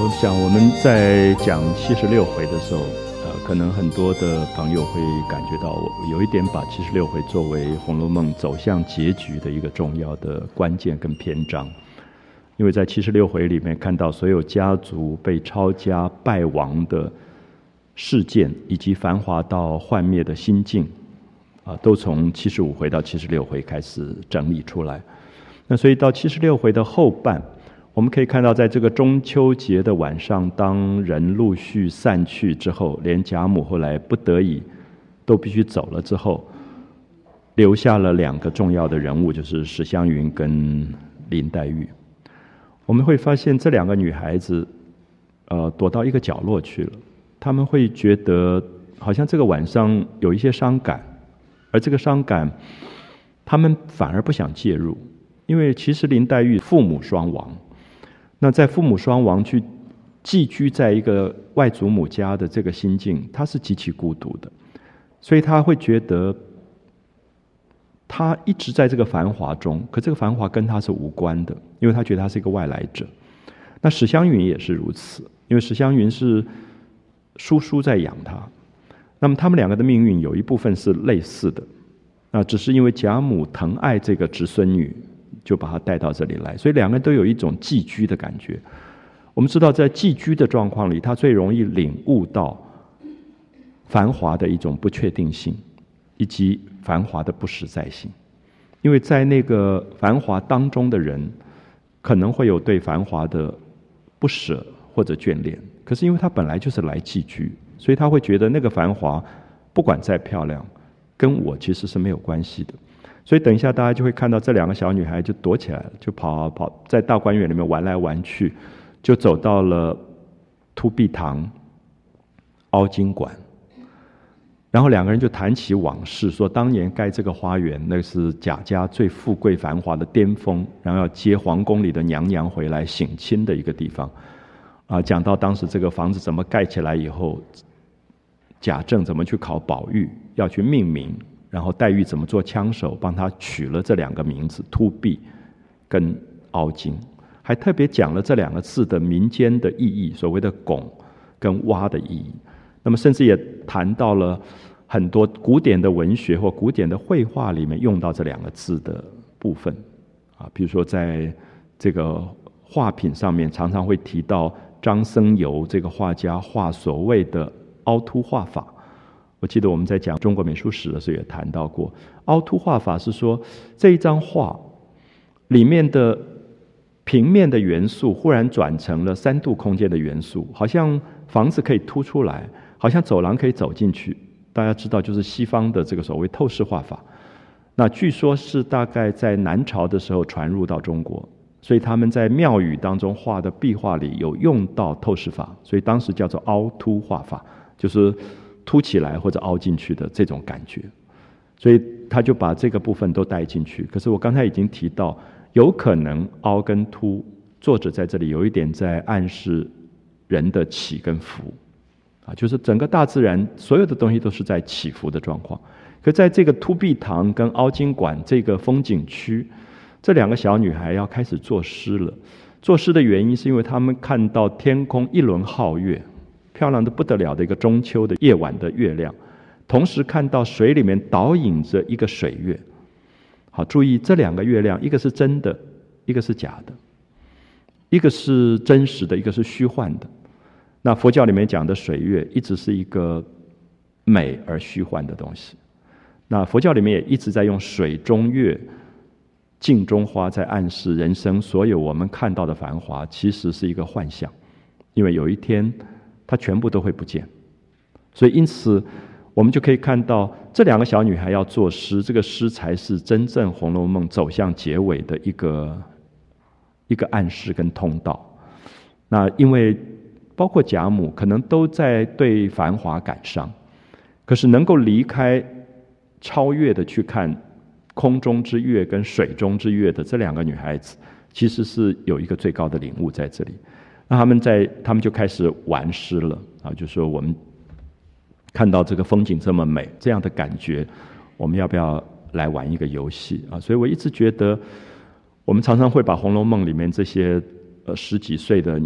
我想我们在讲76回的时候，可能很多的朋友会感觉到，我有一点把76回作为《红楼梦》走向结局的一个重要的关键跟篇章。因为在76回里面看到所有家族被抄家败亡的事件，以及繁华到幻灭的心境，都从75回到76回开始整理出来。那所以到76回的后半，我们可以看到，在这个中秋节的晚上，当人陆续散去之后，连贾母后来不得已都必须走了之后，留下了两个重要的人物，就是史湘云跟林黛玉。我们会发现这两个女孩子，躲到一个角落去了。她们会觉得，好像这个晚上有一些伤感，而这个伤感，她们反而不想介入，因为其实林黛玉父母双亡。那在父母双亡去寄居在一个外祖母家的这个心境，他是极其孤独的，所以他会觉得他一直在这个繁华中，可这个繁华跟他是无关的，因为他觉得他是一个外来者。那史湘云也是如此，因为史湘云是叔叔在养他，那么他们两个的命运有一部分是类似的，那只是因为贾母疼爱这个侄孙女，就把他带到这里来，所以两个人都有一种寄居的感觉。我们知道在寄居的状况里，他最容易领悟到繁华的一种不确定性，以及繁华的不实在性。因为在那个繁华当中的人，可能会有对繁华的不舍或者眷恋，可是因为他本来就是来寄居，所以他会觉得那个繁华不管再漂亮，跟我其实是没有关系的。所以等一下大家就会看到这两个小女孩就躲起来了，就跑在大观园里面玩来玩去，就走到了凸壁堂、凹晶馆，然后两个人就谈起往事，说当年盖这个花园，那是贾家最富贵繁华的巅峰，然后要接皇宫里的娘娘回来省亲的一个地方。讲到当时这个房子怎么盖起来以后，贾政怎么去考宝玉，要去命名，然后黛玉怎么做枪手，帮他取了这两个名字，凸壁跟凹晶，还特别讲了这两个字的民间的意义，所谓的拱跟挖的意义。那么甚至也谈到了很多古典的文学或古典的绘画里面用到这两个字的部分。比如说在这个画品上面常常会提到张僧繇这个画家画所谓的凹凸画法。我记得我们在讲中国美术史的时候也谈到过，凹凸画法是说这一张画里面的平面的元素忽然转成了3度空间的元素，好像房子可以凸出来，好像走廊可以走进去。大家知道就是西方的这个所谓透视画法，那据说是大概在南朝的时候传入到中国，所以他们在庙宇当中画的壁画里有用到透视法，所以当时叫做凹凸画法，就是凸起来或者凹进去的这种感觉，所以他就把这个部分都带进去。可是我刚才已经提到，有可能凹跟凸，作者在这里有一点在暗示人的起跟伏，就是整个大自然所有的东西都是在起伏的状况。可在这个凸壁堂跟凹晶馆这个风景区，这两个小女孩要开始作诗了。作诗的原因是因为她们看到天空一轮皓月，漂亮的不得了的一个中秋的夜晚的月亮，同时看到水里面倒影着一个水月。好，注意这两个月亮，一个是真的，一个是假的，一个是真实的，一个是虚幻的。那佛教里面讲的水月一直是一个美而虚幻的东西，那佛教里面也一直在用水中月、镜中花，在暗示人生所有我们看到的繁华其实是一个幻象，因为有一天它全部都会不见。所以因此我们就可以看到这两个小女孩要作诗，这个诗才是真正《红楼梦》走向结尾的一个暗示跟通道。那因为包括贾母可能都在对繁华感伤，可是能够离开超越的去看空中之月跟水中之月的这两个女孩子，其实是有一个最高的领悟在这里。那他们就开始玩诗了就说我们看到这个风景这么美，这样的感觉，我们要不要来玩一个游戏所以我一直觉得，我们常常会把《红楼梦》里面这些10几岁的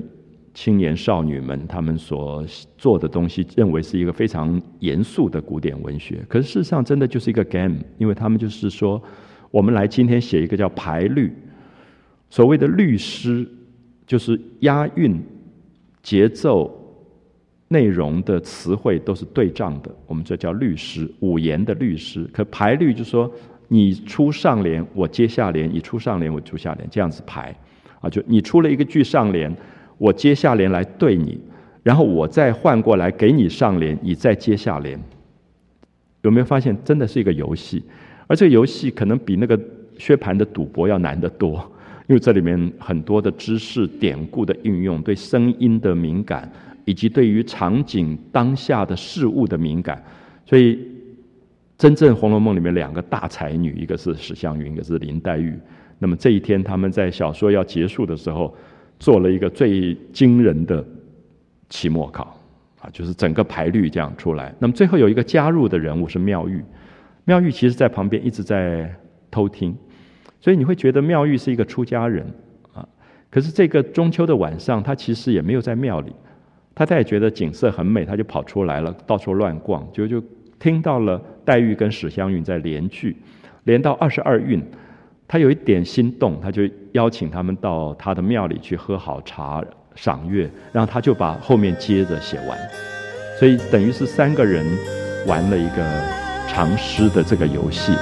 青年少女们他们所做的东西认为是一个非常严肃的古典文学，可是事实上真的就是一个 game， 因为他们就是说我们来今天写一个叫排律，所谓的律诗就是押韵、节奏、内容的词汇都是对仗的，我们这叫律诗，五言的律诗。可排律就是说你出上联我接下联，你出上联我出下联，这样子排啊，就你出了一个句上联，我接下联来对你，然后我再换过来给你上联，你再接下联。有没有发现真的是一个游戏？而这个游戏可能比那个薛蟠的赌博要难得多，因为这里面很多的知识典故的运用，对声音的敏感，以及对于场景当下的事物的敏感。所以真正《红楼梦》里面两个大才女，一个是史湘云，一个是林黛玉。那么这一天他们在小说要结束的时候做了一个最惊人的期末考就是整个排律这样出来。那么最后有一个加入的人物是妙玉，妙玉其实在旁边一直在偷听，所以你会觉得妙玉是一个出家人可是这个中秋的晚上他其实也没有在庙里，他也觉得景色很美，他就跑出来了，到处乱逛，就听到了黛玉跟史湘云在连句，连到22韵，他有一点心动，他就邀请他们到他的庙里去喝好茶赏月，然后他就把后面接着写完。所以等于是3个人玩了一个长诗的这个游戏。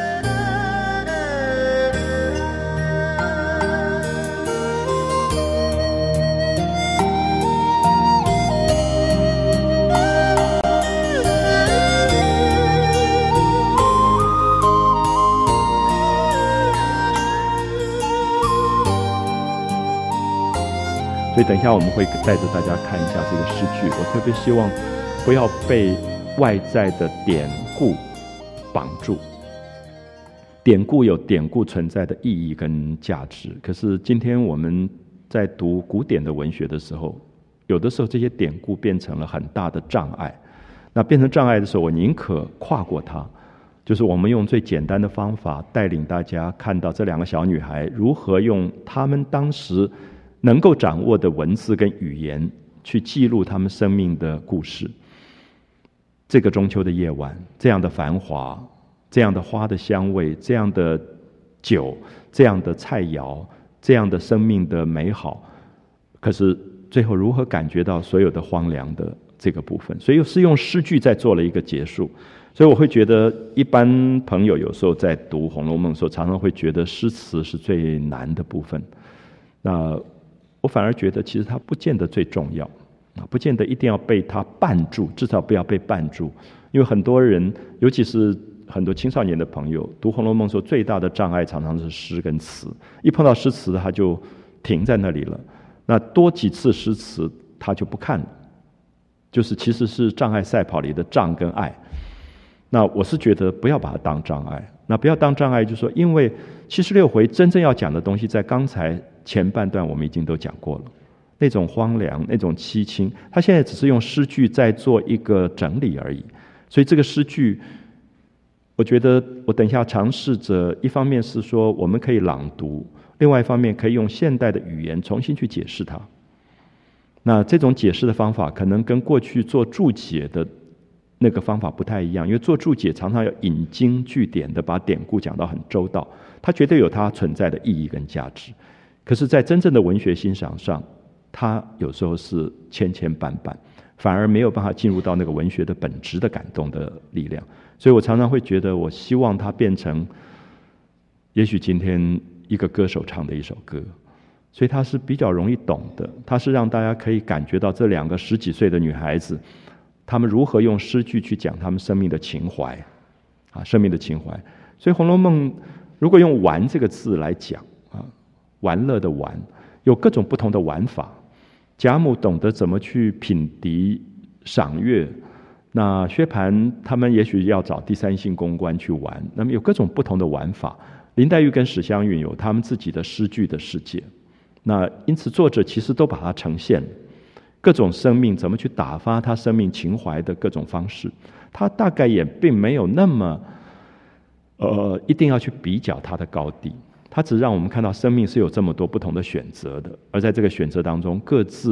所以等一下我们会带着大家看一下这个诗句，我特别希望不要被外在的典故绑住。典故有典故存在的意义跟价值，可是今天我们在读古典的文学的时候，有的时候这些典故变成了很大的障碍。那变成障碍的时候，我宁可跨过它，就是我们用最简单的方法带领大家看到这2个小女孩如何用她们当时能够掌握的文字跟语言去记录他们生命的故事。这个中秋的夜晚，这样的繁华，这样的花的香味，这样的酒，这样的菜肴，这样的生命的美好，可是最后如何感觉到所有的荒凉的这个部分。所以是用诗句在做了一个结束。所以我会觉得一般朋友有时候在读《红楼梦》的时候，常常会觉得诗词是最难的部分。那我反而觉得其实它不见得最重要不见得一定要被它绊住，至少不要被绊住。因为很多人，尤其是很多青少年的朋友，读《红楼梦》时候最大的障碍常常是诗跟词，一碰到诗词他就停在那里了。那多几次诗词他就不看了，就是其实是障碍赛跑里的障跟碍。那我是觉得不要把它当障碍，那不要当障碍就是说，因为76回真正要讲的东西在刚才前半段我们已经都讲过了，那种荒凉，那种凄清，他现在只是用诗句在做一个整理而已。所以这个诗句我觉得我等一下尝试着，一方面是说我们可以朗读，另外一方面可以用现代的语言重新去解释它。那这种解释的方法可能跟过去做注解的那个方法不太一样，因为做注解常常要引经据典的把典故讲到很周到，它绝对有它存在的意义跟价值。可是在真正的文学欣赏上，它有时候是千千绊绊，反而没有办法进入到那个文学的本质的感动的力量。所以我常常会觉得，我希望它变成也许今天一个歌手唱的一首歌，所以它是比较容易懂的，它是让大家可以感觉到这2个10几岁的女孩子，她们如何用诗句去讲她们生命的情怀生命的情怀。所以《红楼梦》如果用玩这个字来讲玩乐的玩，有各种不同的玩法。贾母懂得怎么去品笛赏月，那薛蟠他们也许要找第三性公关去玩，那么有各种不同的玩法。林黛玉跟史湘云有他们自己的诗句的世界，那因此作者其实都把它呈现各种生命怎么去打发他生命情怀的各种方式。他大概也并没有那么一定要去比较它的高低，他只让我们看到生命是有这么多不同的选择的，而在这个选择当中各自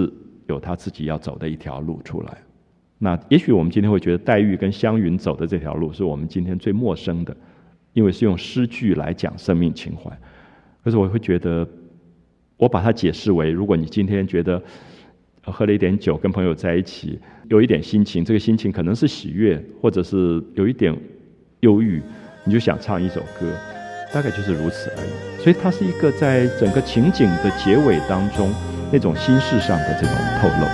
有他自己要走的一条路出来。那也许我们今天会觉得黛玉跟湘云走的这条路是我们今天最陌生的，因为是用诗句来讲生命情怀。可是我会觉得，我把它解释为，如果你今天觉得喝了一点酒跟朋友在一起有一点心情，这个心情可能是喜悦或者是有一点忧郁，你就想唱一首歌，大概就是如此而已。所以它是一个在整个情景的结尾当中那种心事上的这种透露。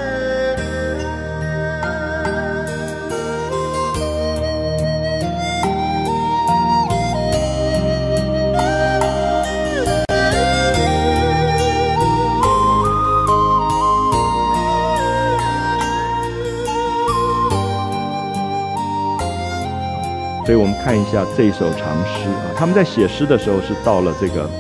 所以我们看一下这一首长诗啊，他们在写诗的时候是到了这个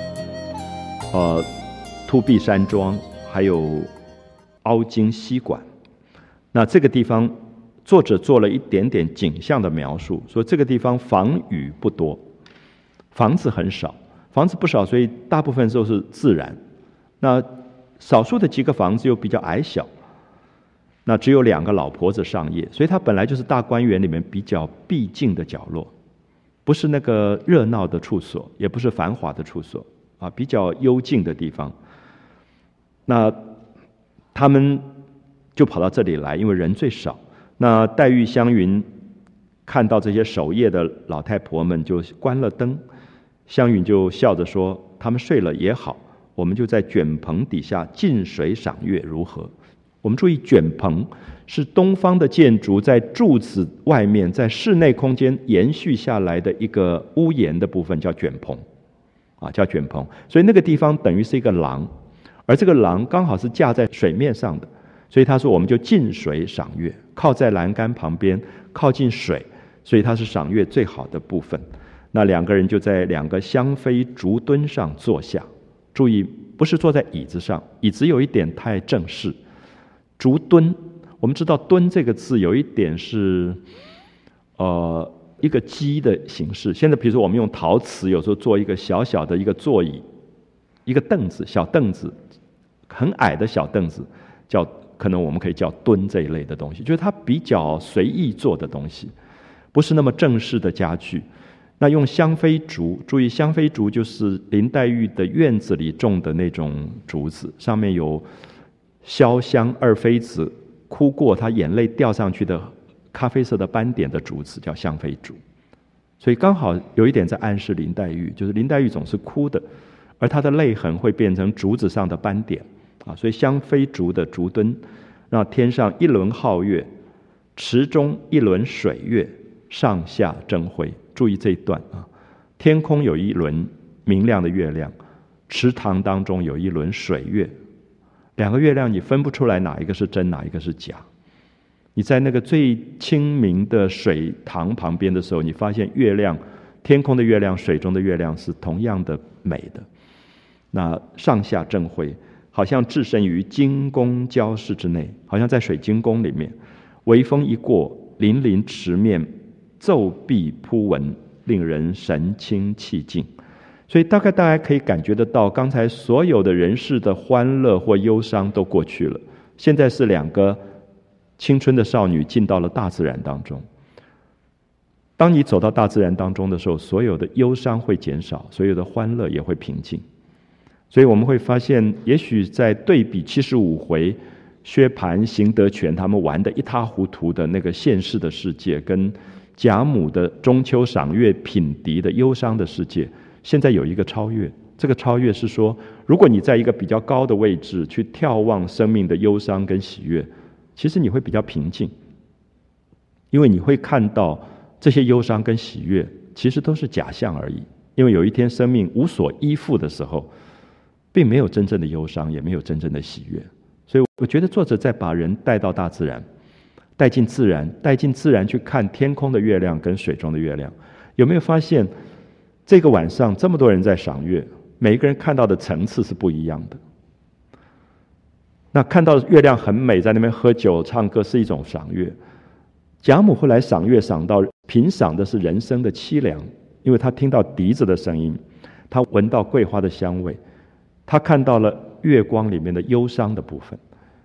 突壁山庄，还有凹晶溪馆。那这个地方，作者做了一点点景象的描述，说这个地方房宇不多，房子很少，房子不少，所以大部分都是自然。那少数的几个房子又比较矮小。那只有2个老婆子上夜，所以它本来就是大观园里面比较僻静的角落，不是那个热闹的处所，也不是繁华的处所啊，比较幽静的地方。那他们就跑到这里来，因为人最少。那黛玉、湘云看到这些守夜的老太婆们就关了灯，湘云就笑着说：“他们睡了也好，我们就在卷棚底下近水赏月，如何？”我们注意，卷棚是东方的建筑在柱子外面，在室内空间延续下来的一个屋檐的部分，叫卷棚，啊，叫卷棚。所以那个地方等于是一个廊，而这个廊刚好是架在水面上的，所以他说我们就近水赏月，靠在栏杆旁边，靠近水，所以它是赏月最好的部分。那2个人就在2个香妃竹墩上坐下，注意不是坐在椅子上，椅子有一点太正式。竹墩，我们知道墩这个字有一点是一个基的形式。现在比如说我们用陶瓷有时候做一个小小的一个座椅，一个凳子，小凳子，很矮的小凳子，可能我们可以叫墩这一类的东西，就是它比较随意做的东西，不是那么正式的家具。那用香妃竹，注意香妃竹就是林黛玉的院子里种的那种竹子，上面有潇湘二妃子哭过她眼泪掉上去的咖啡色的斑点的竹子，叫香妃竹。所以刚好有一点在暗示林黛玉，就是林黛玉总是哭的，而她的泪痕会变成竹子上的斑点啊。所以香妃竹的竹墩，让天上一轮皓月，池中一轮水月，上下争辉。注意这一段啊，天空有一轮明亮的月亮，池塘当中有一轮水月。2个月亮你分不出来哪一个是真哪一个是假。你在那个最清明的水塘旁边的时候，你发现月亮，天空的月亮，水中的月亮是同样的美的。那上下争辉，好像置身于金宫交室之内，好像在水晶宫里面。微风一过，粼粼池面，骤碧铺文，令人神清气静。所以大家可以感觉得到，刚才所有的人世的欢乐或忧伤都过去了，现在是2个青春的少女进到了大自然当中。当你走到大自然当中的时候，所有的忧伤会减少，所有的欢乐也会平静。所以我们会发现，也许在对比75回薛蟠、邢德全他们玩得一塌糊涂的那个现世的世界，跟贾母的中秋赏月品笛的忧伤的世界，现在有一个超越。这个超越是说，如果你在一个比较高的位置去眺望生命的忧伤跟喜悦，其实你会比较平静，因为你会看到这些忧伤跟喜悦其实都是假象而已。因为有一天生命无所依附的时候，并没有真正的忧伤，也没有真正的喜悦。所以我觉得作者在把人带到大自然，带进自然去看天空的月亮跟水中的月亮。有没有发现这个晚上这么多人在赏月，每一个人看到的层次是不一样的。那看到月亮很美，在那边喝酒唱歌是一种赏月。贾母后来赏月赏到品赏的是人生的凄凉，因为她听到笛子的声音，她闻到桂花的香味，她看到了月光里面的忧伤的部分。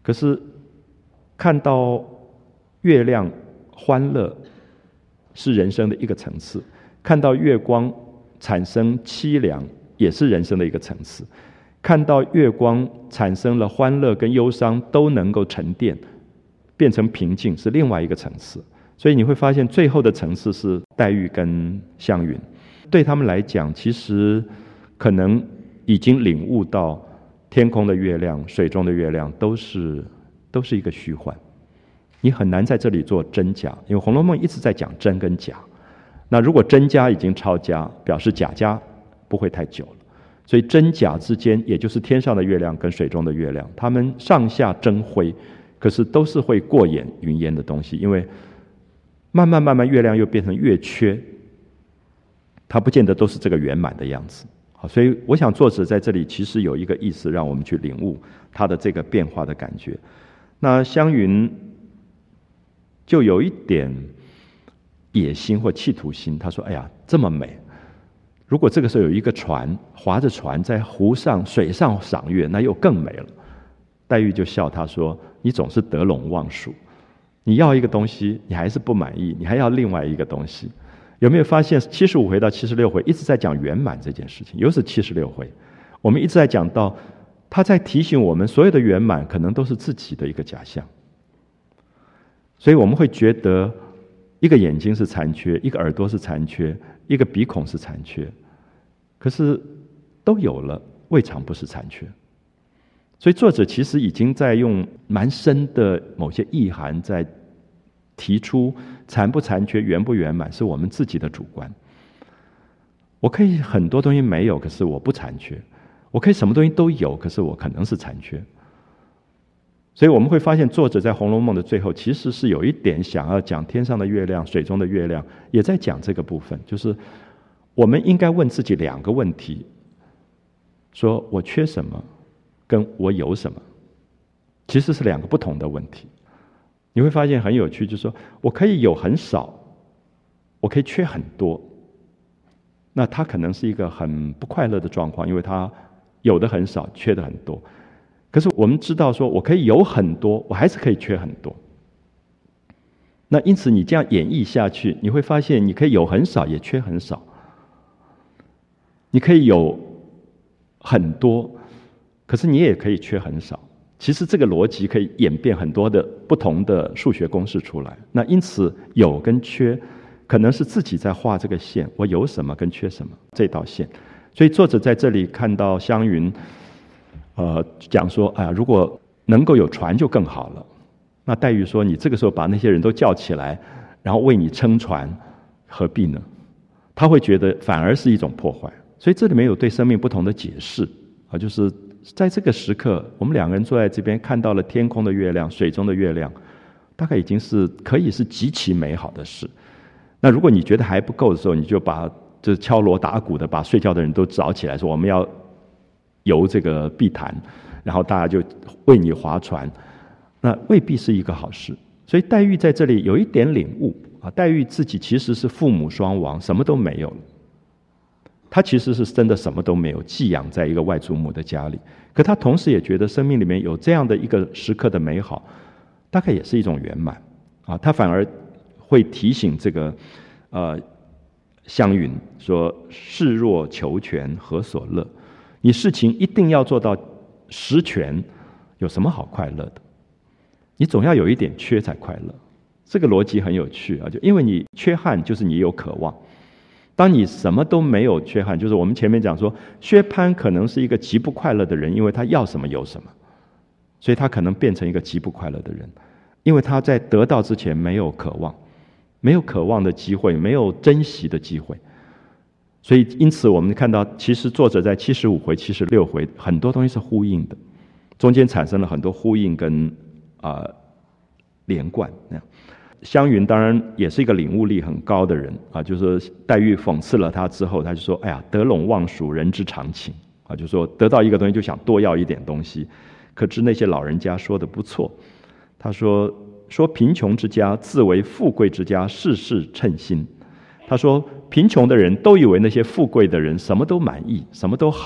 可是看到月亮欢乐是人生的一个层次，看到月光产生凄凉也是人生的一个层次，看到月光产生了欢乐跟忧伤都能够沉淀变成平静是另外一个层次。所以你会发现最后的层次是黛玉跟湘云，对他们来讲其实可能已经领悟到天空的月亮水中的月亮都是一个虚幻，你很难在这里做真假，因为《红楼梦》一直在讲真跟假，那如果真假已经超假，表示假假不会太久了，所以真假之间也就是天上的月亮跟水中的月亮，它们上下争辉，可是都是会过眼云烟的东西，因为慢慢月亮又变成月缺，它不见得都是这个圆满的样子。好，所以我想作者在这里其实有一个意思让我们去领悟它的这个变化的感觉。那湘云就有一点野心或企图心，他说哎呀这么美，如果这个时候有一个船划着船在湖上水上赏月，那又更美了。黛玉就笑他说你总是得陇望蜀，你要一个东西你还是不满意，你还要另外一个东西。有没有发现75回到76回一直在讲圆满这件事情，尤其是76回我们一直在讲到他在提醒我们所有的圆满可能都是自己的一个假象。所以我们会觉得一个眼睛是残缺，一个耳朵是残缺，一个鼻孔是残缺，可是都有了未尝不是残缺。所以作者其实已经在用蛮深的某些意涵在提出残不残缺圆不圆满是我们自己的主观。我可以很多东西没有，可是我不残缺，我可以什么东西都有，可是我可能是残缺。所以我们会发现作者在《红楼梦》的最后其实是有一点想要讲天上的月亮水中的月亮，也在讲这个部分，就是我们应该问自己2个问题，说我缺什么跟我有什么，其实是2个不同的问题。你会发现很有趣，就是说我可以有很少，我可以缺很多，那它可能是一个很不快乐的状况，因为它有的很少，缺的很多。可是我们知道说我可以有很多，我还是可以缺很多。那因此你这样演绎下去，你会发现你可以有很少也缺很少，你可以有很多，可是你也可以缺很少。其实这个逻辑可以演变很多的不同的数学公式出来。那因此有跟缺可能是自己在画这个线，我有什么跟缺什么这道线。所以作者在这里看到湘云讲说如果能够有船就更好了。那黛玉说你这个时候把那些人都叫起来然后为你撑船何必呢？他会觉得反而是一种破坏。所以这里面有对生命不同的解释就是在这个时刻我们2个人坐在这边看到了天空的月亮水中的月亮，大概已经是可以是极其美好的事。那如果你觉得还不够的时候，你就把这敲锣打鼓的把睡觉的人都找起来，说我们要游这个碧潭，然后大家就为你划船，那未必是一个好事。所以黛玉在这里有一点领悟黛玉自己其实是父母双亡，什么都没有了。她其实是真的什么都没有，寄养在一个外祖母的家里，可她同时也觉得生命里面有这样的一个时刻的美好，大概也是一种圆满她反而会提醒这个湘云说事若求全何所乐，你事情一定要做到十全，有什么好快乐的？你总要有一点缺才快乐。这个逻辑很有趣就因为你缺憾就是你有渴望。当你什么都没有缺憾，就是我们前面讲说薛蟠可能是一个极不快乐的人，因为他要什么有什么，所以他可能变成一个极不快乐的人，因为他在得到之前没有渴望，没有渴望的机会，没有珍惜的机会。所以因此我们看到其实作者在75回76回很多东西是呼应的，中间产生了很多呼应跟连贯那样。湘云当然也是一个领悟力很高的人就是黛玉讽刺了他之后，他就说哎呀得陇望蜀人之常情就说得到一个东西就想多要一点东西。可知那些老人家说的不错，他说贫穷之家自为富贵之家，事事称心。他说贫穷的人都以为那些富贵的人什么都满意什么都好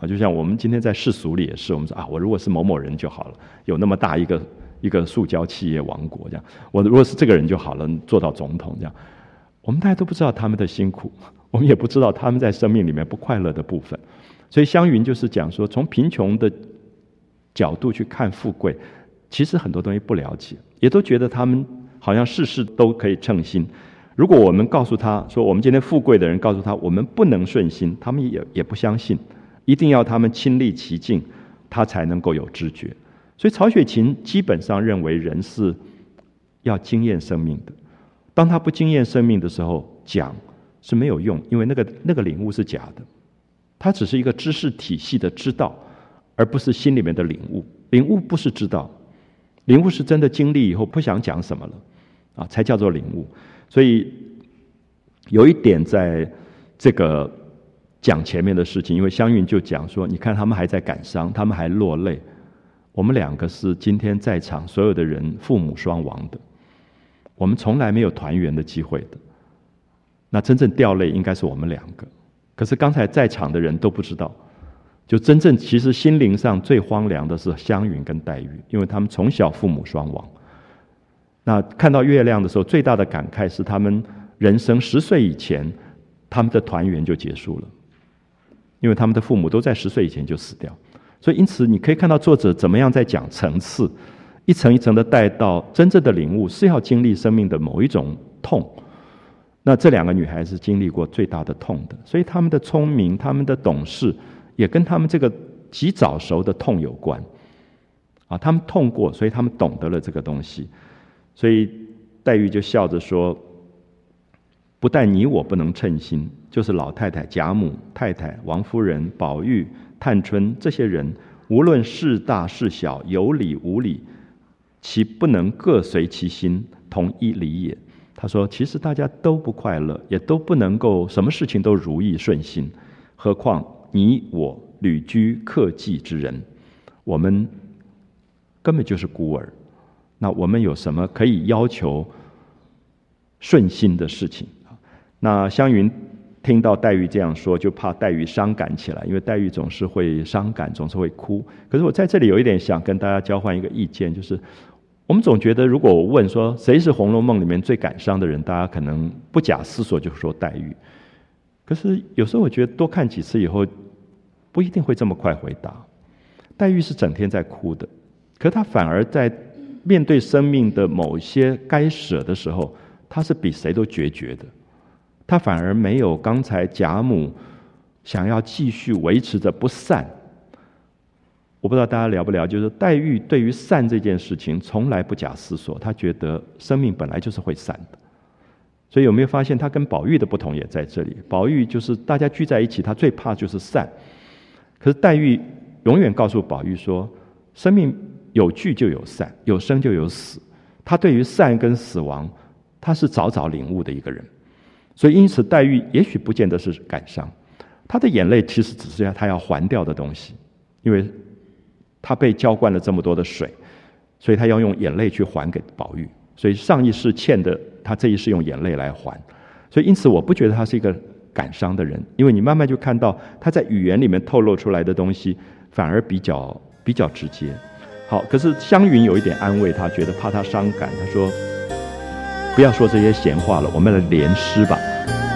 就像我们今天在世俗里也是，我们说我如果是某某人就好了，有那么大一个塑胶企业王国这样，我如果是这个人就好了，做到总统这样。我们大家都不知道他们的辛苦，我们也不知道他们在生命里面不快乐的部分。所以湘云就是讲说，从贫穷的角度去看富贵，其实很多东西不了解，也都觉得他们好像事事都可以称心。如果我们告诉他说，我们今天富贵的人告诉他我们不能顺心，他们也不相信，一定要他们亲历其境，他才能够有知觉。所以曹雪芹基本上认为人是要经验生命的，当他不经验生命的时候，讲是没有用，因为那个领悟是假的，它只是一个知识体系的知道，而不是心里面的领悟。领悟不是知道，领悟是真的经历以后不想讲什么了才叫做领悟。所以有一点在这个讲前面的事情，因为湘云就讲说，你看他们还在感伤，他们还落泪，我们两个是今天在场所有的人父母双亡的，我们从来没有团圆的机会的，那真正掉泪应该是我们两个。可是刚才在场的人都不知道，就真正其实心灵上最荒凉的是湘云跟黛玉，因为他们从小父母双亡。那看到月亮的时候，最大的感慨是他们人生10岁以前，他们的团圆就结束了，因为他们的父母都在10岁以前就死掉。所以因此你可以看到作者怎么样在讲层次，一层一层的带到真正的领悟是要经历生命的某一种痛。那这两个女孩子经历过最大的痛的，所以她们的聪明，她们的懂事，也跟她们这个极早熟的痛有关她们痛过，所以她们懂得了这个东西。所以黛玉就笑着说，不但你我不能称心，就是老太太、贾母、太太、王夫人、宝玉、探春这些人，无论事大事小，有理无理，其不能各随其心，同一理也。他说其实大家都不快乐，也都不能够什么事情都如意顺心，何况你我旅居客寄之人，我们根本就是孤儿，那我们有什么可以要求顺心的事情？那湘云听到黛玉这样说，就怕黛玉伤感起来，因为黛玉总是会伤感，总是会哭。可是我在这里有一点想跟大家交换一个意见，就是我们总觉得如果我问说谁是《红楼梦》里面最感伤的人，大家可能不假思索就说黛玉。可是有时候我觉得多看几次以后，不一定会这么快回答。黛玉是整天在哭的，可她反而在面对生命的某些该舍的时候，她是比谁都决绝的。她反而没有刚才贾母想要继续维持着不散。我不知道大家了不了解，就是黛玉对于散这件事情从来不假思索，她觉得生命本来就是会散的。所以有没有发现她跟宝玉的不同也在这里？宝玉就是大家聚在一起，她最怕就是散，可是黛玉永远告诉宝玉说，生命有聚就有散，有生就有死。她对于散跟死亡，她是早早领悟的一个人。所以因此黛玉也许不见得是感伤，她的眼泪其实只是她要还掉的东西，因为她被浇灌了这么多的水，所以她要用眼泪去还给宝玉。所以上一世欠的，她这一世用眼泪来还。所以因此我不觉得她是一个感伤的人，因为你慢慢就看到她在语言里面透露出来的东西反而比较直接。好，可是湘云有一点安慰她，觉得怕她伤感，她说不要说这些闲话了，我们来联诗吧。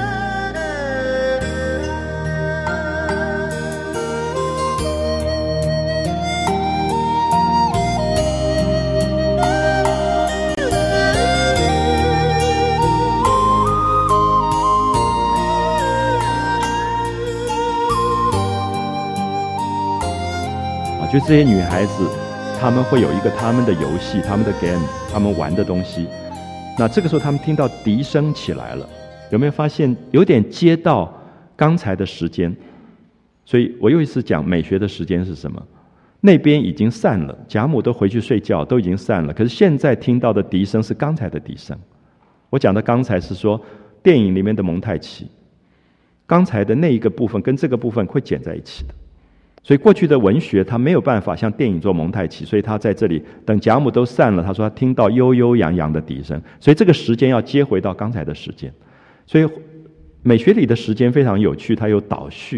就这些女孩子，她们会有一个她们的游戏，她们的 game， 她们玩的东西。那这个时候她们听到笛声起来了，有没有发现有点接到刚才的时间？所以我又一次讲美学的时间是什么？那边已经散了，贾母都回去睡觉，都已经散了，可是现在听到的笛声是刚才的笛声。我讲的刚才是说电影里面的蒙太奇，刚才的那一个部分跟这个部分会剪在一起的。所以过去的文学它没有办法像电影做蒙太奇，所以他在这里等贾母都散了，他说他听到悠悠扬扬的笛声，所以这个时间要接回到刚才的时间。所以美学里的时间非常有趣，它有倒叙，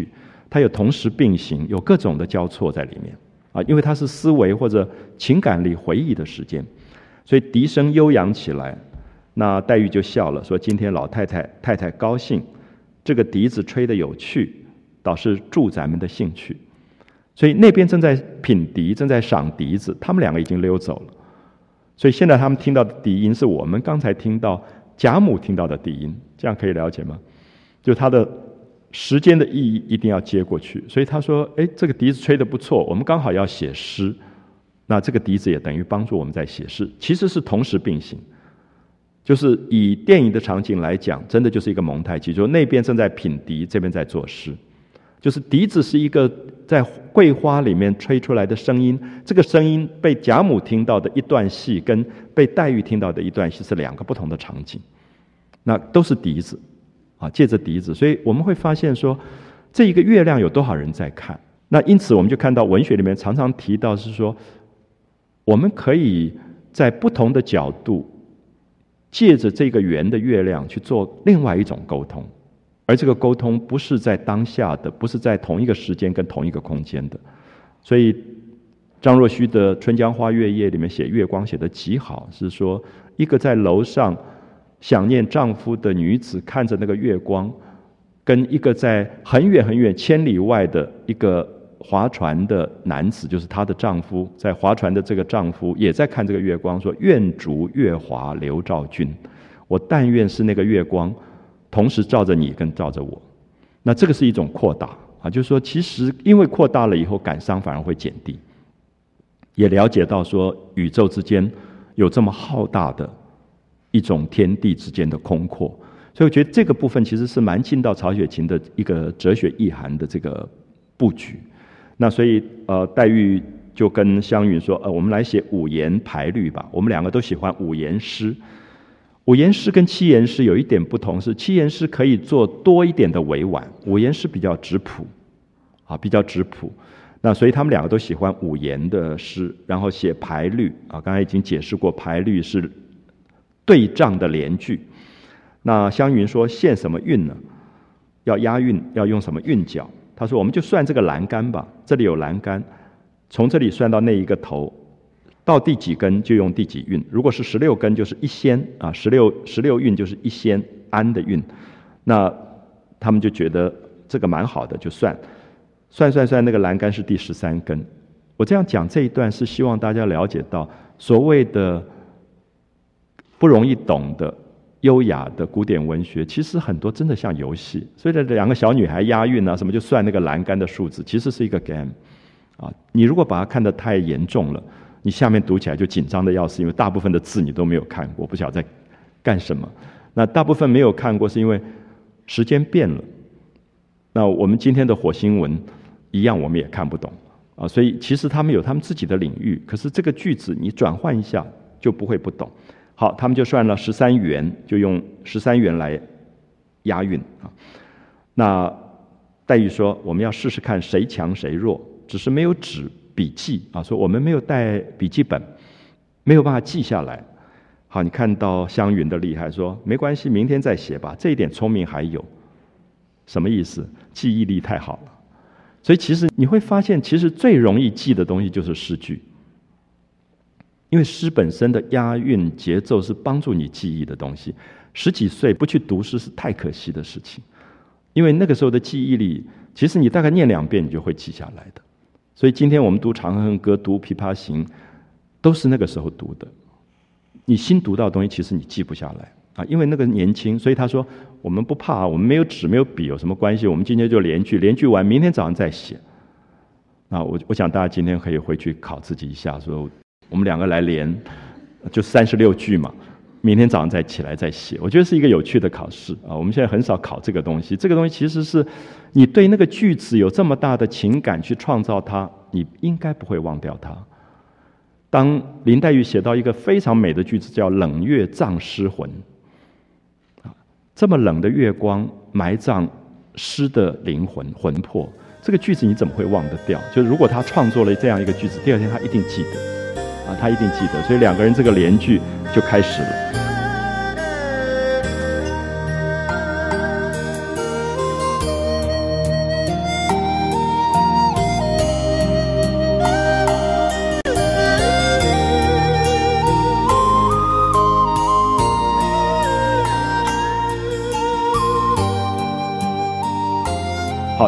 它有同时并行，有各种的交错在里面啊，因为它是思维或者情感里回忆的时间，所以笛声悠扬起来，那黛玉就笑了，说今天老太太高兴，这个笛子吹得有趣，倒是助咱们的兴趣。所以那边正在品笛，正在赏笛子，他们两个已经溜走了。所以现在他们听到的笛音是我们刚才听到贾母听到的笛音，这样可以了解吗？就它的时间的意义一定要接过去。所以他说这个笛子吹得不错，我们刚好要写诗，那这个笛子也等于帮助我们在写诗，其实是同时并行。就是以电影的场景来讲，真的就是一个蒙太奇，就是那边正在品笛，这边在作诗。就是笛子是一个在桂花里面吹出来的声音，这个声音被贾母听到的一段戏跟被黛玉听到的一段戏是两个不同的场景，那都是笛子啊，借着笛子，所以我们会发现说这一个月亮有多少人在看。那因此我们就看到文学里面常常提到是说，我们可以在不同的角度借着这个圆的月亮去做另外一种沟通，而这个沟通不是在当下的，不是在同一个时间跟同一个空间的。所以张若虚的《春江花月夜》里面写月光写得极好，是说一个在楼上想念丈夫的女子看着那个月光，跟一个在很远很远千里外的一个划船的男子，就是她的丈夫，在划船的这个丈夫也在看这个月光，说愿逐月华流照君，我但愿是那个月光同时照着你跟照着我。那这个是一种扩大啊，就是说其实因为扩大了以后感伤反而会减低，也了解到说宇宙之间有这么浩大的一种天地之间的空阔。所以我觉得这个部分其实是蛮进到曹雪芹的一个哲学意涵的这个布局。那所以黛玉就跟湘云说我们来写五言排律吧，我们两个都喜欢五言诗。五言诗跟七言诗有一点不同，是七言诗可以做多一点的委婉，五言诗比较质朴啊，比较质朴。那所以他们两个都喜欢五言的诗，然后写排律啊，刚才已经解释过，排律是对仗的连句。那湘云说限什么韵呢？要押韵，要用什么韵脚？他说我们就算这个栏杆吧，这里有栏杆，从这里算到那一个头，到第几根就用第几韵。如果是16根就是一仙啊，16韵就是一仙安的韵。那他们就觉得这个蛮好的，就算那个栏杆是第13根。我这样讲这一段是希望大家了解到所谓的不容易懂的优雅的古典文学，其实很多真的像游戏。所以这两个小女孩押韵啊什么，就算那个栏杆的数字，其实是一个 game 啊。你如果把它看得太严重了，你下面读起来就紧张的要死，因为大部分的字你都没有看过，不晓得在干什么。那大部分没有看过是因为时间变了。那我们今天的火星文一样我们也看不懂啊，所以其实他们有他们自己的领域，可是这个句子你转换一下就不会不懂。好，他们就算了13元，就用13元来押韵啊。那黛玉说我们要试试看谁强谁弱，只是没有纸笔记啊，说我们没有带笔记本，没有办法记下来。好，你看到湘云的厉害，说没关系，明天再写吧，这一点聪明还有。什么意思？记忆力太好了。所以其实你会发现，其实最容易记的东西就是诗句，因为诗本身的押韵节奏是帮助你记忆的东西。10几岁不去读诗是太可惜的事情，因为那个时候的记忆力，其实你大概念2遍你就会记下来的。所以今天我们读《长恨歌》、读《琵琶行》，都是那个时候读的。你新读到的东西，其实你记不下来啊，因为那个年轻。所以他说我们不怕，我们没有纸没有笔有什么关系？我们今天就连句完，明天早上再写。那我想大家今天可以回去考自己一下，说我们2个来连，就36句嘛，明天早上再起来再写。我觉得是一个有趣的考试啊。我们现在很少考这个东西，这个东西其实是你对那个句子有这么大的情感去创造它，你应该不会忘掉它。当林黛玉写到一个非常美的句子，叫冷月葬诗魂，这么冷的月光埋葬诗的灵魂魂魄，这个句子你怎么会忘得掉？就是如果他创作了这样一个句子，第2天他一定记得啊，他一定记得。所以2个人这个连句就开始了。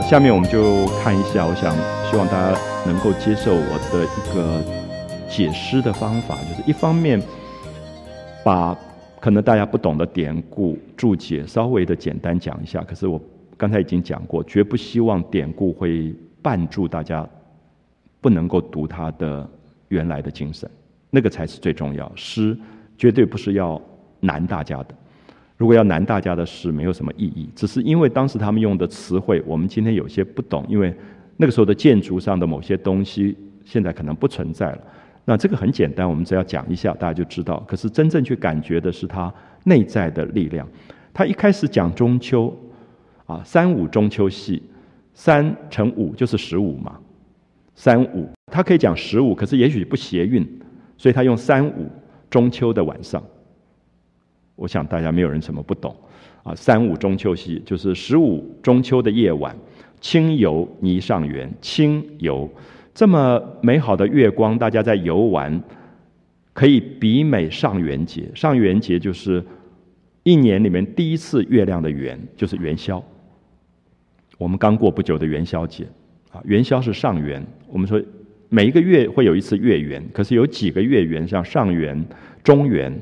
好，下面我们就看一下，我想希望大家能够接受我的一个解释的方法，就是一方面把可能大家不懂的典故注解稍微的简单讲一下，可是我刚才已经讲过，绝不希望典故会绊住大家不能够读它的原来的精神，那个才是最重要。诗绝对不是要难大家的，如果要难大家的诗没有什么意义，只是因为当时他们用的词汇我们今天有些不懂，因为那个时候的建筑上的某些东西现在可能不存在了。那这个很简单，我们只要讲一下大家就知道，可是真正去感觉的是它内在的力量。他一开始讲中秋三五中秋夕，3乘5就是15嘛，3、5，他可以讲15，可是也许不谐韵，所以他用3、5中秋的晚上。我想大家没有人什么不懂3、5中秋夕就是15中秋的夜晚，清游霓上元，清游这么美好的月光，大家在游玩，可以比美上元节。上元节就是一年里面第一次月亮的圆，就是元宵。我们刚过不久的元宵节元宵是上元。我们说每一个月会有一次月圆，可是有几个月圆，像上元、中元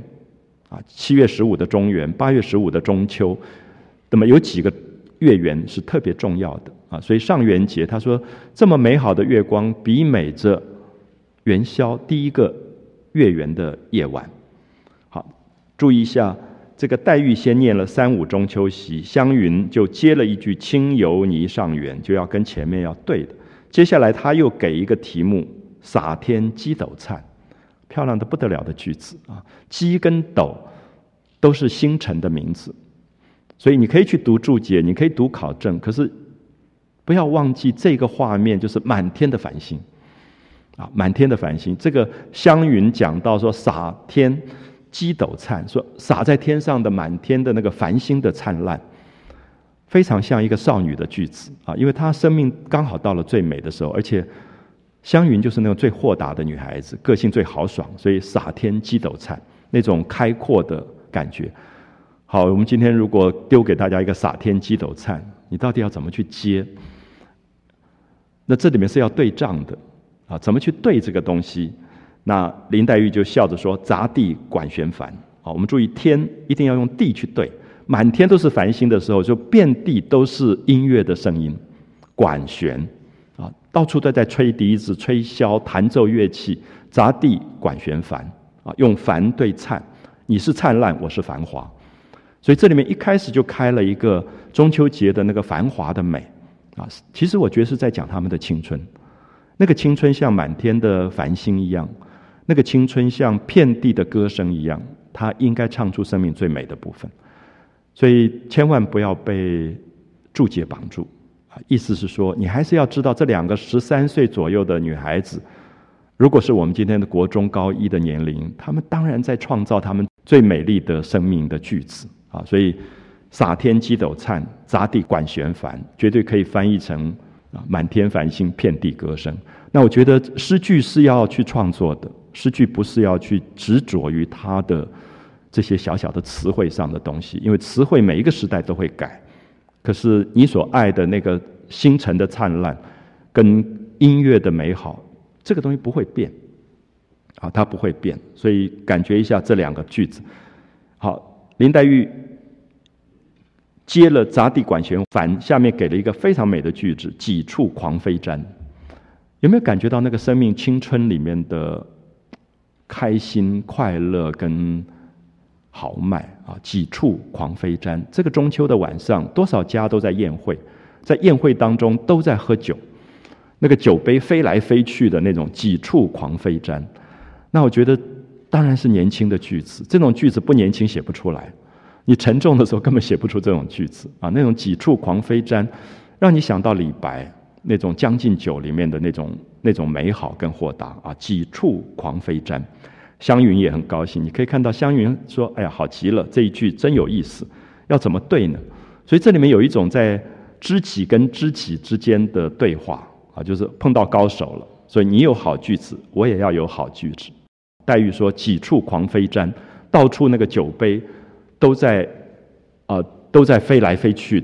7月15的中元，8月15的中秋，那么有几个月圆是特别重要的所以上元节他说这么美好的月光比美着元宵第一个月圆的夜晚。好，注意一下，这个黛玉先念了3、5中秋夕，湘云就接了一句清游霓上元，就要跟前面要对的。接下来他又给一个题目洒天鸡斗灿，漂亮的不得了的句子鸡跟斗都是星辰的名字，所以你可以去读注解，你可以读考证，可是不要忘记这个画面就是满天的繁星满天的繁星。这个湘云讲到说洒天鸡斗灿，说洒在天上的满天的那个繁星的灿烂，非常像一个少女的句子因为她生命刚好到了最美的时候，而且湘云就是那种最豁达的女孩子，个性最豪爽，所以洒天鸡斗灿那种开阔的感觉。好，我们今天如果丢给大家一个洒天鸡斗灿，你到底要怎么去接？那这里面是要对仗的怎么去对这个东西？那林黛玉就笑着说杂地管弦繁我们注意天一定要用地去对，满天都是繁星的时候，就遍地都是音乐的声音，管弦到处都在吹笛子、吹箫、弹奏乐器，杂地管弦繁用繁对灿，你是灿烂，我是繁华。所以这里面一开始就开了一个中秋节的那个繁华的美其实我觉得是在讲他们的青春，那个青春像满天的繁星一样，那个青春像遍地的歌声一样，它应该唱出生命最美的部分。所以千万不要被注解绑住意思是说你还是要知道这2个13岁左右的女孩子，如果是我们今天的国中高一的年龄，她们当然在创造她们最美丽的生命的句子所以洒天鸡斗灿，杂地管弦繁，绝对可以翻译成满天繁星，遍地歌声。那我觉得诗句是要去创作的，诗句不是要去执着于它的这些小小的词汇上的东西，因为词汇每一个时代都会改，可是你所爱的那个星辰的灿烂跟音乐的美好，这个东西不会变它不会变。所以感觉一下这2个句子。好，林黛玉接了杂地管弦繁，下面给了一个非常美的句子几处狂飞毡。有没有感觉到那个生命青春里面的开心快乐跟豪迈几处狂飞毡。这个中秋的晚上，多少家都在宴会，在宴会当中都在喝酒，那个酒杯飞来飞去的那种几处狂飞毡。那我觉得当然是年轻的句子，这种句子不年轻写不出来，你沉重的时候根本写不出这种句子那种几处狂飞毡，让你想到李白那种《将进酒》里面的那种美好跟豁达几处狂飞毡。湘云也很高兴，你可以看到湘云说哎呀好极了，这一句真有意思，要怎么对呢？所以这里面有一种在知己跟知己之间的对话就是碰到高手了，所以你有好句子，我也要有好句子。黛玉说几处狂飞毡，到处那个酒杯都在飞来飞去的，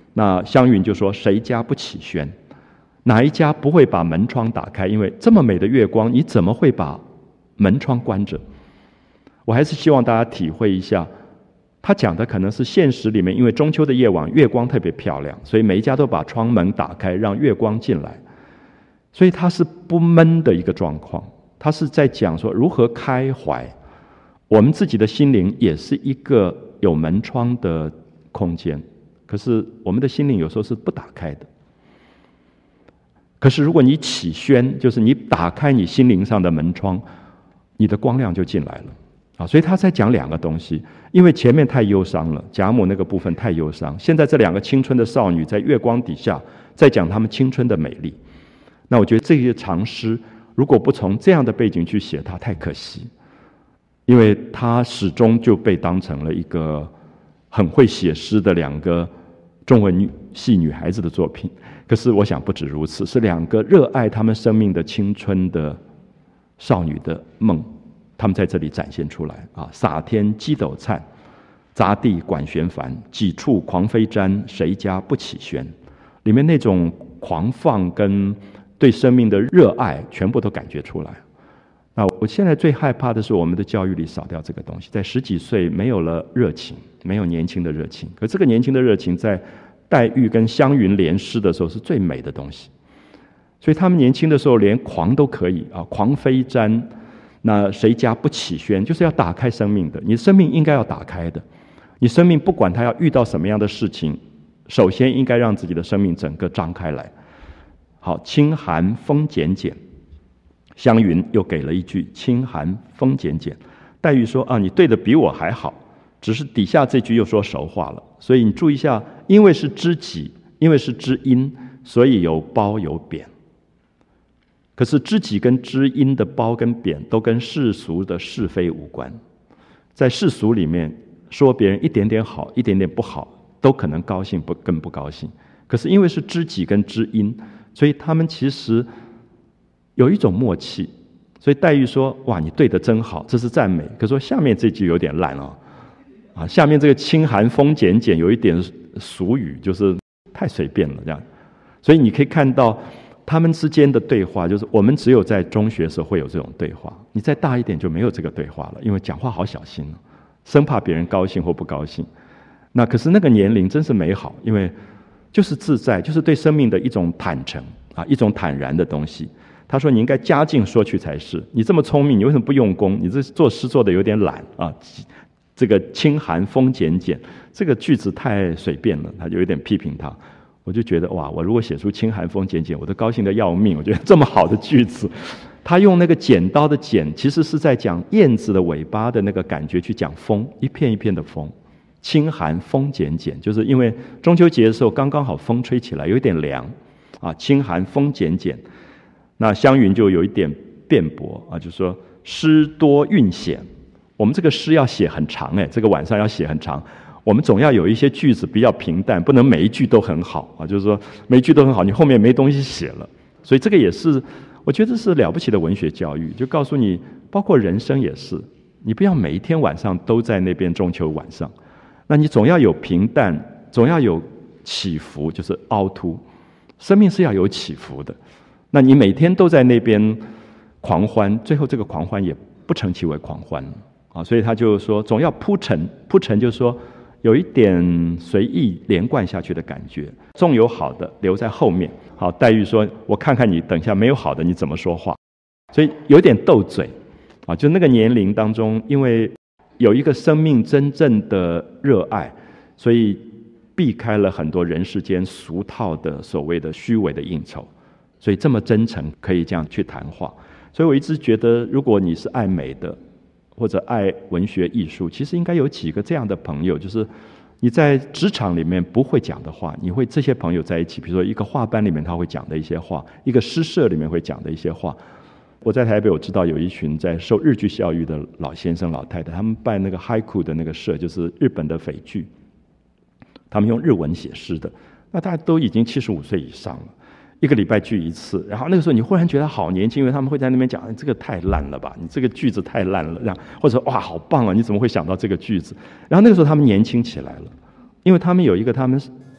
那湘云就说：“谁家不起轩？哪一家不会把门窗打开？因为这么美的月光，你怎么会把门窗关着？”我还是希望大家体会一下，他讲的可能是现实里面，因为中秋的夜晚月光特别漂亮，所以每一家都把窗门打开，让月光进来，所以它是不闷的一个状况。他是在讲说如何开怀，我们自己的心灵也是一个有门窗的空间，可是我们的心灵有时候是不打开的。可是如果你起轩，就是你打开你心灵上的门窗，你的光亮就进来了。所以他在讲两个东西，因为前面太忧伤了，贾母那个部分太忧伤，现在这两个青春的少女在月光底下在讲她们青春的美丽。那我觉得这些长诗如果不从这样的背景去写它，太可惜，因为它始终就被当成了一个很会写诗的两个中文系女孩子的作品。可是我想不止如此，是两个热爱她们生命的青春的少女的梦，他们在这里展现出来洒天鸡斗灿，杂地管弦繁，几处狂飞毡，谁家不起轩？里面那种狂放跟对生命的热爱全部都感觉出来。那我现在最害怕的是我们的教育里少掉这个东西，在10几岁没有了热情，没有年轻的热情。可这个年轻的热情在黛玉跟湘云联诗的时候是最美的东西，所以他们年轻的时候连狂都可以狂飞毡，那谁家不起轩？就是要打开生命的，你生命应该要打开的。你生命不管它要遇到什么样的事情，首先应该让自己的生命整个张开来。好，清寒风减减，湘云又给了一句清寒风减减。黛玉说你对的比我还好，只是底下这句又说熟话了。所以你注意一下，因为是知己，因为是知音，所以有褒有贬。可是知己跟知音的褒跟贬都跟世俗的是非无关。在世俗里面说别人一点点好一点点不好都可能高兴更不高兴，可是因为是知己跟知音，所以他们其实有一种默契。所以黛玉说哇你对得真好，这是赞美。可是说下面这句有点烂下面这个清寒风减减有一点俗语，就是太随便了这样。所以你可以看到他们之间的对话，就是我们只有在中学时候会有这种对话，你再大一点就没有这个对话了，因为讲话好小心生怕别人高兴或不高兴。那可是那个年龄真是美好，因为就是自在，就是对生命的一种坦诚一种坦然的东西。他说你应该家境说去才是，你这么聪明，你为什么不用功？你这做诗做的有点懒这个清寒风减减这个句子太随便了，他就有点批评他。我就觉得哇，我如果写出清寒风减减，我都高兴得要命。我觉得这么好的句子，他用那个剪刀的剪，其实是在讲燕子的尾巴的那个感觉去讲风，一片一片的风。清寒风减减，就是因为中秋节的时候刚刚好风吹起来，有一点凉清寒风减减。那湘云就有一点辩驳就说诗多韵显，我们这个诗要写很长这个晚上要写很长，我们总要有一些句子比较平淡，不能每一句都很好就是说每一句都很好，你后面没东西写了。所以这个也是我觉得是了不起的文学教育，就告诉你包括人生也是，你不要每一天晚上都在那边中秋晚上，那你总要有平淡，总要有起伏，就是凹凸，生命是要有起伏的。那你每天都在那边狂欢，最后这个狂欢也不成其为狂欢所以他就说总要铺陈，铺陈就是说有一点随意连贯下去的感觉，纵有好的留在后面。好，黛玉说我看看你等一下没有好的你怎么说话，所以有点斗嘴就那个年龄当中，因为有一个生命真正的热爱，所以避开了很多人世间俗套的所谓的虚伪的应酬，所以这么真诚可以这样去谈话。所以我一直觉得如果你是爱美的或者爱文学艺术，其实应该有几个这样的朋友，就是你在职场里面不会讲的话，你会这些朋友在一起，比如说一个画班里面他会讲的一些话，一个诗社里面会讲的一些话。我在台北我知道有一群在受日剧教育的老先生老太太，他们办那个 haiku 的那个社，就是日本的匪剧，他们用日文写诗的，那大家都已经75岁以上了，一个礼拜聚一次。然后那个时候你忽然觉得好年轻，因为他们会在那边讲这个太烂了吧，你这个句子太烂了，这样，或者哇好棒啊，你怎么会想到这个句子。然后那个时候他们年轻起来了，因为他们有一个他们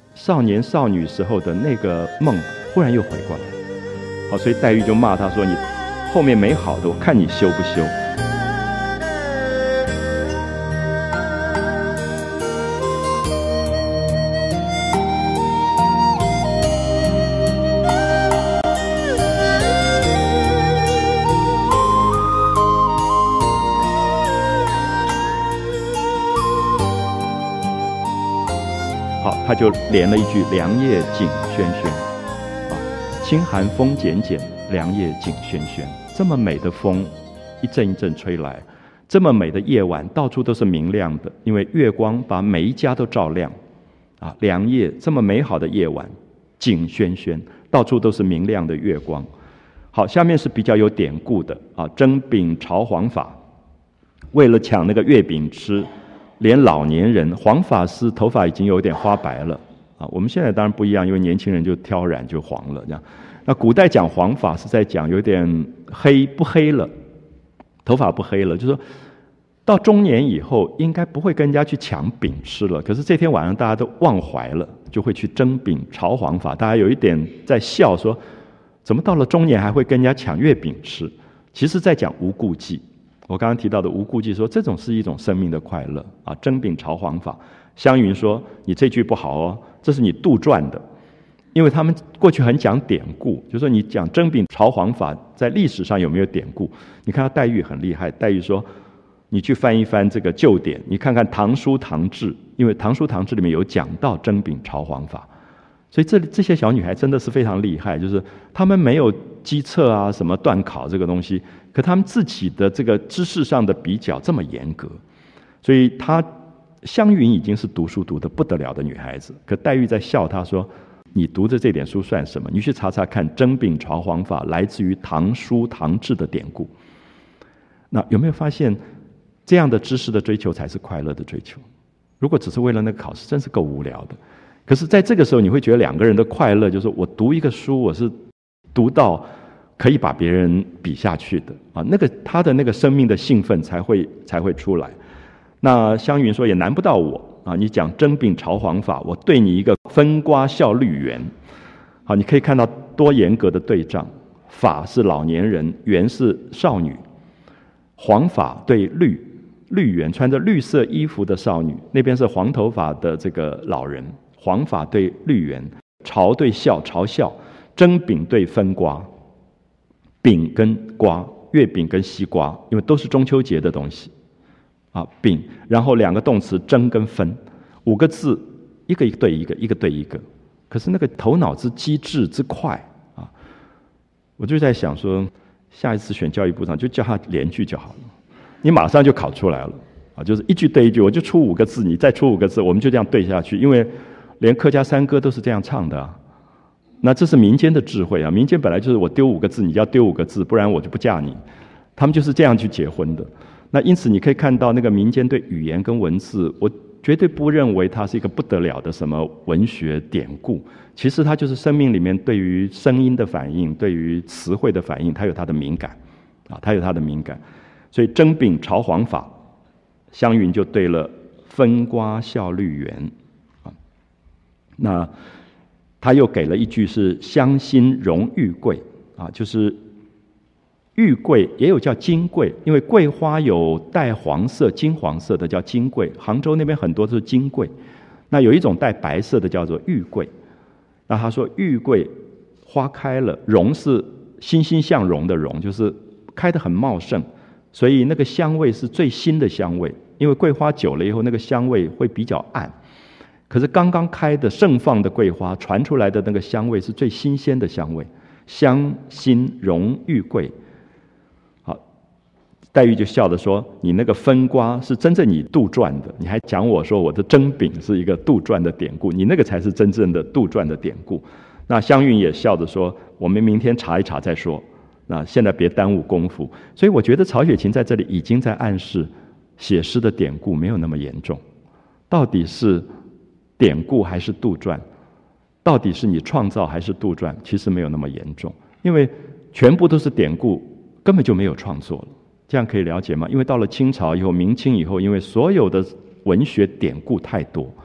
少年少女时候的那个梦忽然又回过来。好，所以黛玉就骂他说：“你后面没好的，我看你修不修。”他就连了一句“凉夜景轩轩”，清寒风剪剪，凉夜景轩轩。这么美的风，一阵一阵吹来；这么美的夜晚，到处都是明亮的，因为月光把每一家都照亮。凉夜这么美好的夜晚，景轩轩，到处都是明亮的月光。好，下面是比较有典故的蒸饼炒黄法，为了抢那个月饼吃。连老年人黄发丝头发已经有点花白了我们现在当然不一样，因为年轻人就挑染就黄了这样。那古代讲黄发是在讲有点黑不黑了，头发不黑了，就是说到中年以后应该不会跟人家去抢饼吃了。可是这天晚上大家都忘怀了，就会去蒸饼炒黄发，大家有一点在笑说，怎么到了中年还会跟人家抢月饼吃？其实在讲无顾忌。我刚刚提到的无顾忌说，这种是一种生命的快乐蒸饼炒黄发。湘云说你这句不好哦，这是你杜撰的。因为他们过去很讲典故，就是说你讲蒸饼炒黄发在历史上有没有典故？你看到黛玉很厉害，黛玉说你去翻一翻这个旧典，你看看唐书唐制，因为唐书唐制里面有讲到蒸饼炒黄发。所以这些小女孩真的是非常厉害，就是她们没有机测什么段考这个东西，可她们自己的这个知识上的比较这么严格。所以湘云已经是读书读得不得了的女孩子，可黛玉在笑她说，你读的这点书算什么？你去查查看蒸饼炒黄发来自于唐书唐制的典故。那有没有发现这样的知识的追求才是快乐的追求？如果只是为了那个考试，真是够无聊的。可是在这个时候你会觉得两个人的快乐就是我读一个书，我是读到可以把别人比下去的那个他的那个生命的兴奋才会出来。那湘云说也难不到我你讲蒸饼炒黄发，我对你一个分瓜笑绿园。好，你可以看到多严格的对仗，发是老年人，园是少女。黄发对绿园穿着绿色衣服的少女，那边是黄头发的这个老人。黄发对绿园，嘲对笑，嘲笑。蒸饼对分瓜，饼跟瓜，月饼跟西瓜，因为都是中秋节的东西饼，然后两个动词蒸跟分，5个字，一个对一个，一个对一个。可是那个头脑之机智之快我就在想说，下一次选教育部长就叫他连句就好了，你马上就考出来了就是一句对一句，我就出5个字，你再出5个字，我们就这样对下去。因为连客家山歌都是这样唱的那这是民间的智慧民间本来就是我丢5个字，你就要丢5个字，不然我就不嫁你。他们就是这样去结婚的。那因此你可以看到那个民间对语言跟文字，我绝对不认为它是一个不得了的什么文学典故，其实它就是生命里面对于声音的反应，对于词汇的反应，它有它的敏感它有它的敏感。所以蒸饼炒黄发，湘云就对了分瓜笑绿园那他又给了一句是香心荣玉桂就是玉桂也有叫金桂，因为桂花有带黄色金黄色的叫金桂，杭州那边很多都是金桂。那有一种带白色的叫做玉桂。那他说玉桂花开了，荣是欣欣向荣的荣，就是开得很茂盛，所以那个香味是最新的香味。因为桂花久了以后那个香味会比较暗，可是刚刚开的盛放的桂花传出来的那个香味是最新鲜的香味。香心荣玉桂。好，黛玉就笑着说，你那个分瓜是真正你杜撰的，你还讲我说我的蒸饼是一个杜撰的典故，你那个才是真正的杜撰的典故。那湘云也笑着说，我们明天查一查再说，那现在别耽误功夫。所以我觉得曹雪芹在这里已经在暗示写诗的典故没有那么严重，到底是典故还是杜撰，到底是你创造还是杜撰，其实没有那么严重。因为全部都是典故，根本就没有创作了。这样可以了解吗？因为到了清朝以后，明清以后，因为所有的文学典故太多，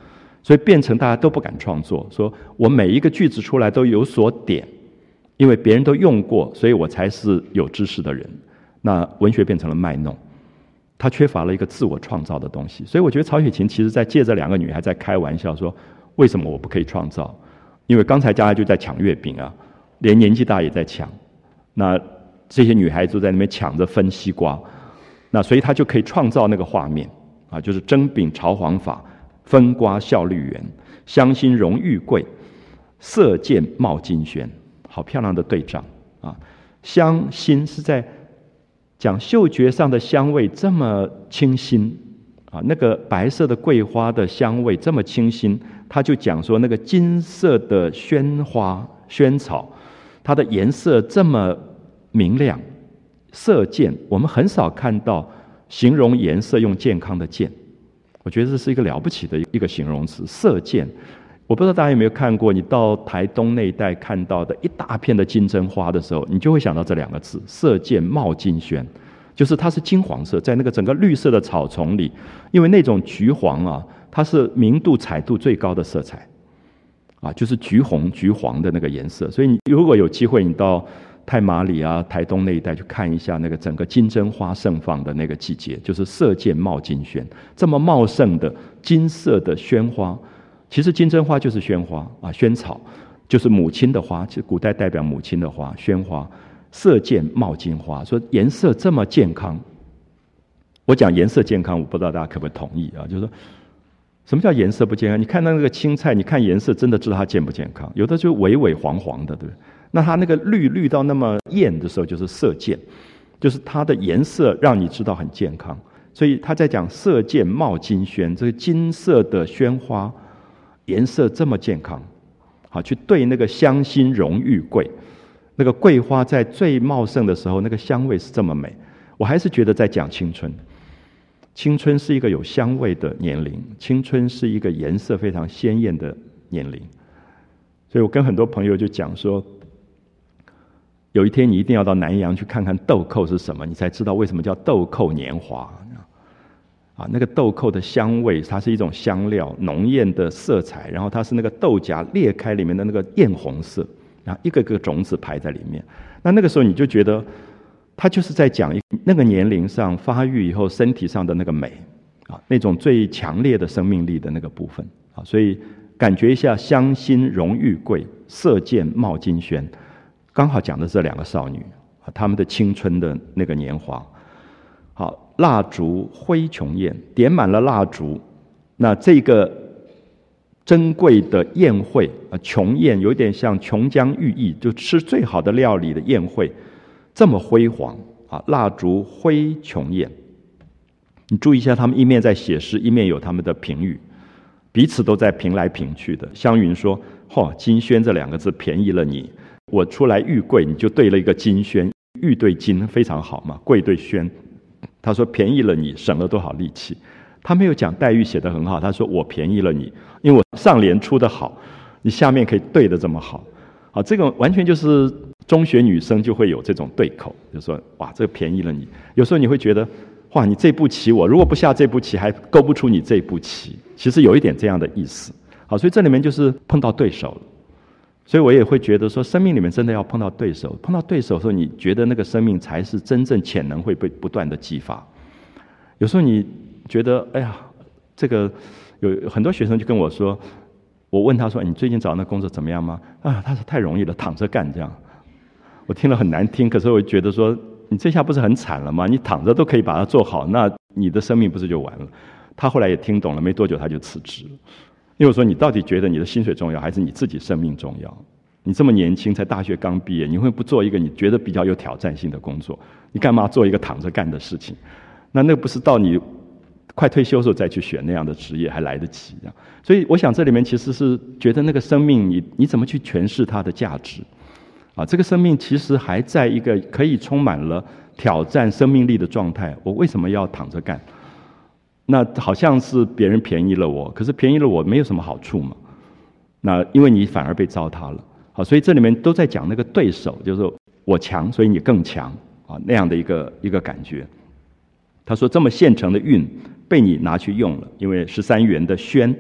所以变成大家都不敢创作，说我每一个句子出来都有所点，因为别人都用过，所以我才是有知识的人。那文学变成了卖弄，它缺乏了一个自我创造的东西。所以我觉得曹雪芹其实在借这两个女孩在开玩笑说，为什么我不可以创造？因为刚才大家就在抢月饼啊，连年纪大也在抢，那这些女孩子在那边抢着分西瓜，那所以她就可以创造那个画面啊，就是蒸饼炒黄法，分瓜效绿园，香馨荣玉桂，色见冒金轩。好漂亮的对仗啊！香馨是在讲嗅觉上的香味这么清新啊，那个白色的桂花的香味这么清新，他就讲说那个金色的萱花萱草，它的颜色这么明亮，色健，我们很少看到形容颜色用健康的健，我觉得这是一个了不起的一个形容词，色健。我不知道大家有没有看过，你到台东那一带看到的一大片的金针花的时候，你就会想到这两个字，色见冒金轩，就是它是金黄色，在那个整个绿色的草丛里，因为那种橘黄啊，它是明度彩度最高的色彩啊，就是橘红橘黄的那个颜色。所以你如果有机会你到太麻里啊台东那一带去看一下那个整个金针花盛放的那个季节，就是色见冒金轩，这么茂盛的金色的萱花。其实金针花就是萱花啊，萱草就是母亲的花，其实古代代表母亲的花，萱花。色见冒金花，说颜色这么健康。我讲颜色健康，我不知道大家可不可以同意啊？就是说，什么叫颜色不健康？你看到那个青菜，你看颜色，真的知道它健不健康？有的就微微黄黄的，对不对？那它那个绿到那么艳的时候，就是色健，就是它的颜色让你知道很健康。所以他在讲色见冒金轩，这个金色的萱花。颜色这么健康，好去对那个香馨荣玉桂，那个桂花在最茂盛的时候，那个香味是这么美。我还是觉得在讲青春，青春是一个有香味的年龄，青春是一个颜色非常鲜艳的年龄。所以我跟很多朋友就讲说，有一天你一定要到南洋去看看豆蔻是什么，你才知道为什么叫豆蔻年华。啊，那个豆蔻的香味，它是一种香料，浓艳的色彩，然后它是那个豆荚裂开里面的那个艳红色，然后一个个种子排在里面。那个时候你就觉得，它就是在讲那个年龄上发育以后身体上的那个美啊，那种最强烈的生命力的那个部分啊，所以感觉一下香馨荣玉桂，色见冒金轩，刚好讲的这两个少女啊，她们的青春的那个年华。好，蜡烛灰琼宴，点满了蜡烛，那这个珍贵的宴会啊，琼宴有点像琼浆玉液，就吃最好的料理的宴会，这么辉煌啊！蜡烛灰琼宴，你注意一下，他们一面在写诗，一面有他们的评语，彼此都在评来评去的。湘云说：“金轩这两个字便宜了你，我出来玉桂，你就对了一个金轩，玉对金非常好嘛，桂对轩。”他说便宜了你，省了多少力气。他没有讲黛玉写得很好，他说我便宜了你，因为我上联出得好，你下面可以对得这么好。好，这个完全就是中学女生就会有这种对口，就说哇，这个便宜了你。有时候你会觉得哇，你这步棋我如果不下这步棋，还勾不出你这步棋。其实有一点这样的意思。好，所以这里面就是碰到对手了。所以我也会觉得说，生命里面真的要碰到对手，碰到对手的时候，你觉得那个生命才是真正潜能会被不断的激发。有时候你觉得，哎呀，这个有很多学生就跟我说，我问他说，你最近找那工作怎么样吗？啊，他说太容易了，躺着干这样。我听了很难听，可是我觉得说，你这下不是很惨了吗？你躺着都可以把它做好，那你的生命不是就完了？他后来也听懂了，没多久他就辞职了。因为我说，你到底觉得你的薪水重要，还是你自己生命重要？你这么年轻，才大学刚毕业，你会不做一个你觉得比较有挑战性的工作？你干嘛做一个躺着干的事情？那不是到你快退休的时候再去选那样的职业还来得及？所以我想这里面其实是觉得那个生命你怎么去诠释它的价值啊？这个生命其实还在一个可以充满了挑战生命力的状态，我为什么要躺着干？那好像是别人便宜了我，可是便宜了我没有什么好处嘛。那因为你反而被糟蹋了。好，所以这里面都在讲那个对手，就是我强，所以你更强啊，那样的一个感觉。他说这么现成的韵被你拿去用了，因为13元的轩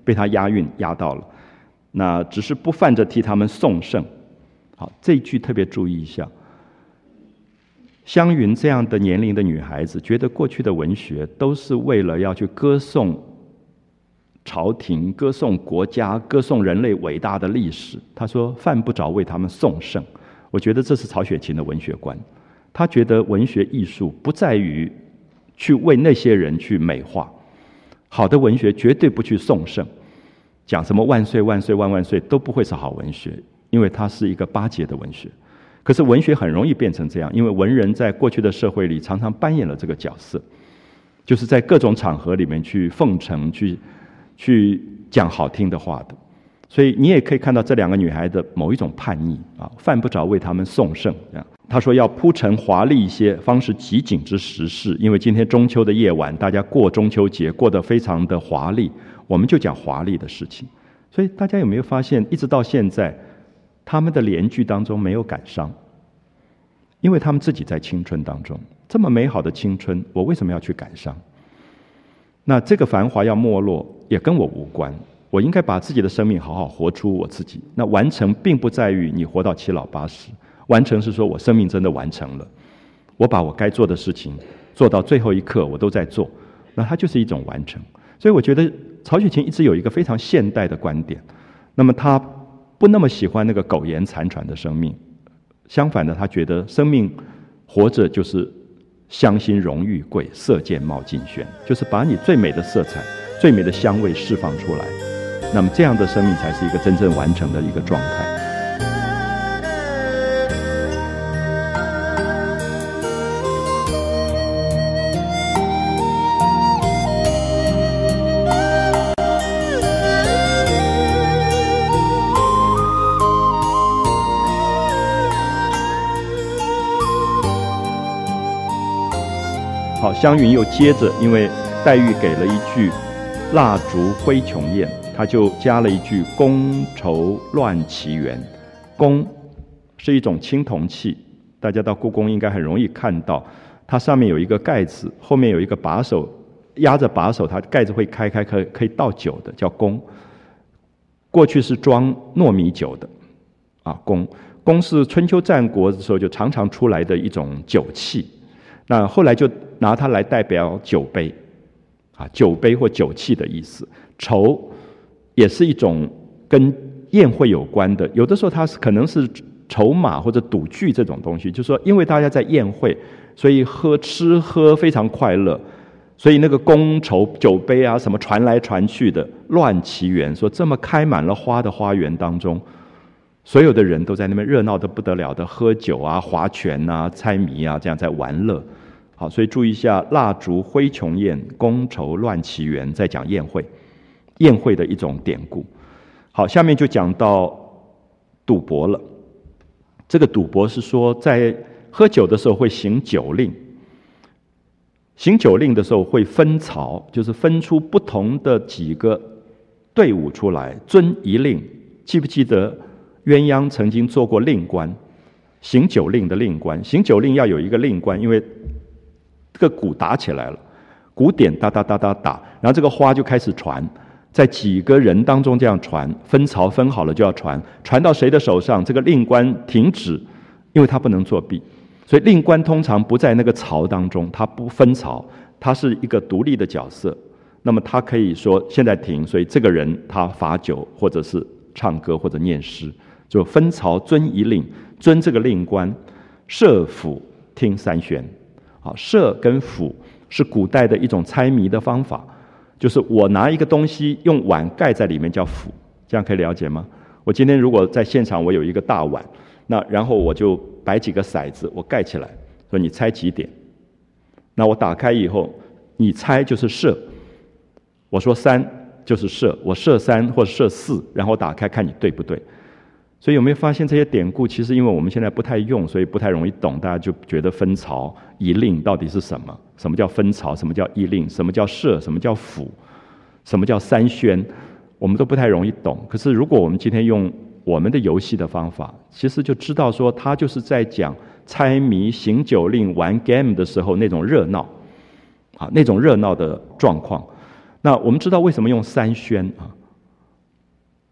被他押韵押到了。那只是不犯着替他们颂圣。好，这一句特别注意一下。湘云这样的年龄的女孩子，觉得过去的文学都是为了要去歌颂朝廷、歌颂国家、歌颂人类伟大的历史。她说犯不着为他们颂圣。我觉得这是曹雪芹的文学观。他觉得文学艺术不在于去为那些人去美化，好的文学绝对不去颂圣，讲什么万岁万岁万万岁都不会是好文学，因为它是一个巴结的文学。可是文学很容易变成这样，因为文人在过去的社会里常常扮演了这个角色，就是在各种场合里面去奉承、去讲好听的话的。所以你也可以看到这两个女孩的某一种叛逆啊，犯不着为她们颂圣。她说要铺陈华丽一些，方是极景之时事。因为今天中秋的夜晚，大家过中秋节过得非常的华丽，我们就讲华丽的事情。所以大家有没有发现，一直到现在他们的联句当中没有感伤，因为他们自己在青春当中，这么美好的青春，我为什么要去感伤？那这个繁华要没落也跟我无关，我应该把自己的生命好好活出我自己。那完成并不在于你活到七老八十，完成是说我生命真的完成了，我把我该做的事情做到最后一刻我都在做，那它就是一种完成。所以我觉得曹雪芹一直有一个非常现代的观点，那么他不那么喜欢那个苟延残喘的生命，相反的，他觉得生命活着就是香馨荣誉贵，色见冒尽轩，就是把你最美的色彩、最美的香味释放出来，那么这样的生命才是一个真正完成的一个状态。好，湘云又接着，因为黛玉给了一句蜡烛灰琼宴，他就加了一句觥筹乱奇缘。觥是一种青铜器，大家到故宫应该很容易看到，它上面有一个盖子，后面有一个把手，压着把手，它盖子会开，可以倒酒的，叫觥。过去是装糯米酒的啊，觥是春秋战国的时候就常常出来的一种酒器，那后来就拿它来代表酒杯啊，酒杯或酒器的意思。筹也是一种跟宴会有关的，有的时候它可能是筹码或者赌具这种东西，就是说因为大家在宴会，所以吃喝非常快乐，所以那个觥筹酒杯啊什么传来传去的，乱奇缘，说这么开满了花的花园当中，所有的人都在那边热闹得不得了的喝酒啊、划拳啊、猜谜啊，这样在玩乐。好，所以注意一下，蜡烛灰琼宴，觥筹乱奇缘，在讲宴会，宴会的一种典故。好，下面就讲到赌博了。这个赌博是说，在喝酒的时候会行酒令，行酒令的时候会分曹，就是分出不同的几个队伍出来，遵一令。记不记得鸳鸯曾经做过令官，行酒令的令官。行酒令要有一个令官，因为这个鼓打起来了，鼓点哒哒哒哒打，然后这个花就开始传，在几个人当中这样传，分曹分好了就要传，传到谁的手上，这个令官停止，因为他不能作弊，所以令官通常不在那个曹当中，他不分曹，他是一个独立的角色。那么他可以说现在停，所以这个人他罚酒或者是唱歌或者念诗，就分曹遵一令，遵这个令官，射府听三宣。好，射跟府是古代的一种猜谜的方法，就是我拿一个东西用碗盖在里面叫府，这样可以了解吗？我今天如果在现场我有一个大碗，那然后我就摆几个骰子，我盖起来，说你猜几点？那我打开以后，你猜就是射，我说3就是射，我射3或者射4，然后打开看你对不对。所以有没有发现这些典故，其实因为我们现在不太用，所以不太容易懂，大家就觉得分曹一令到底是什么？什么叫分曹？什么叫一令？什么叫射？什么叫府？什么叫三宣？我们都不太容易懂。可是如果我们今天用我们的游戏的方法，其实就知道说，他就是在讲猜谜、行酒令、玩 game 的时候那种热闹啊，那种热闹的状况。那我们知道为什么用三宣啊？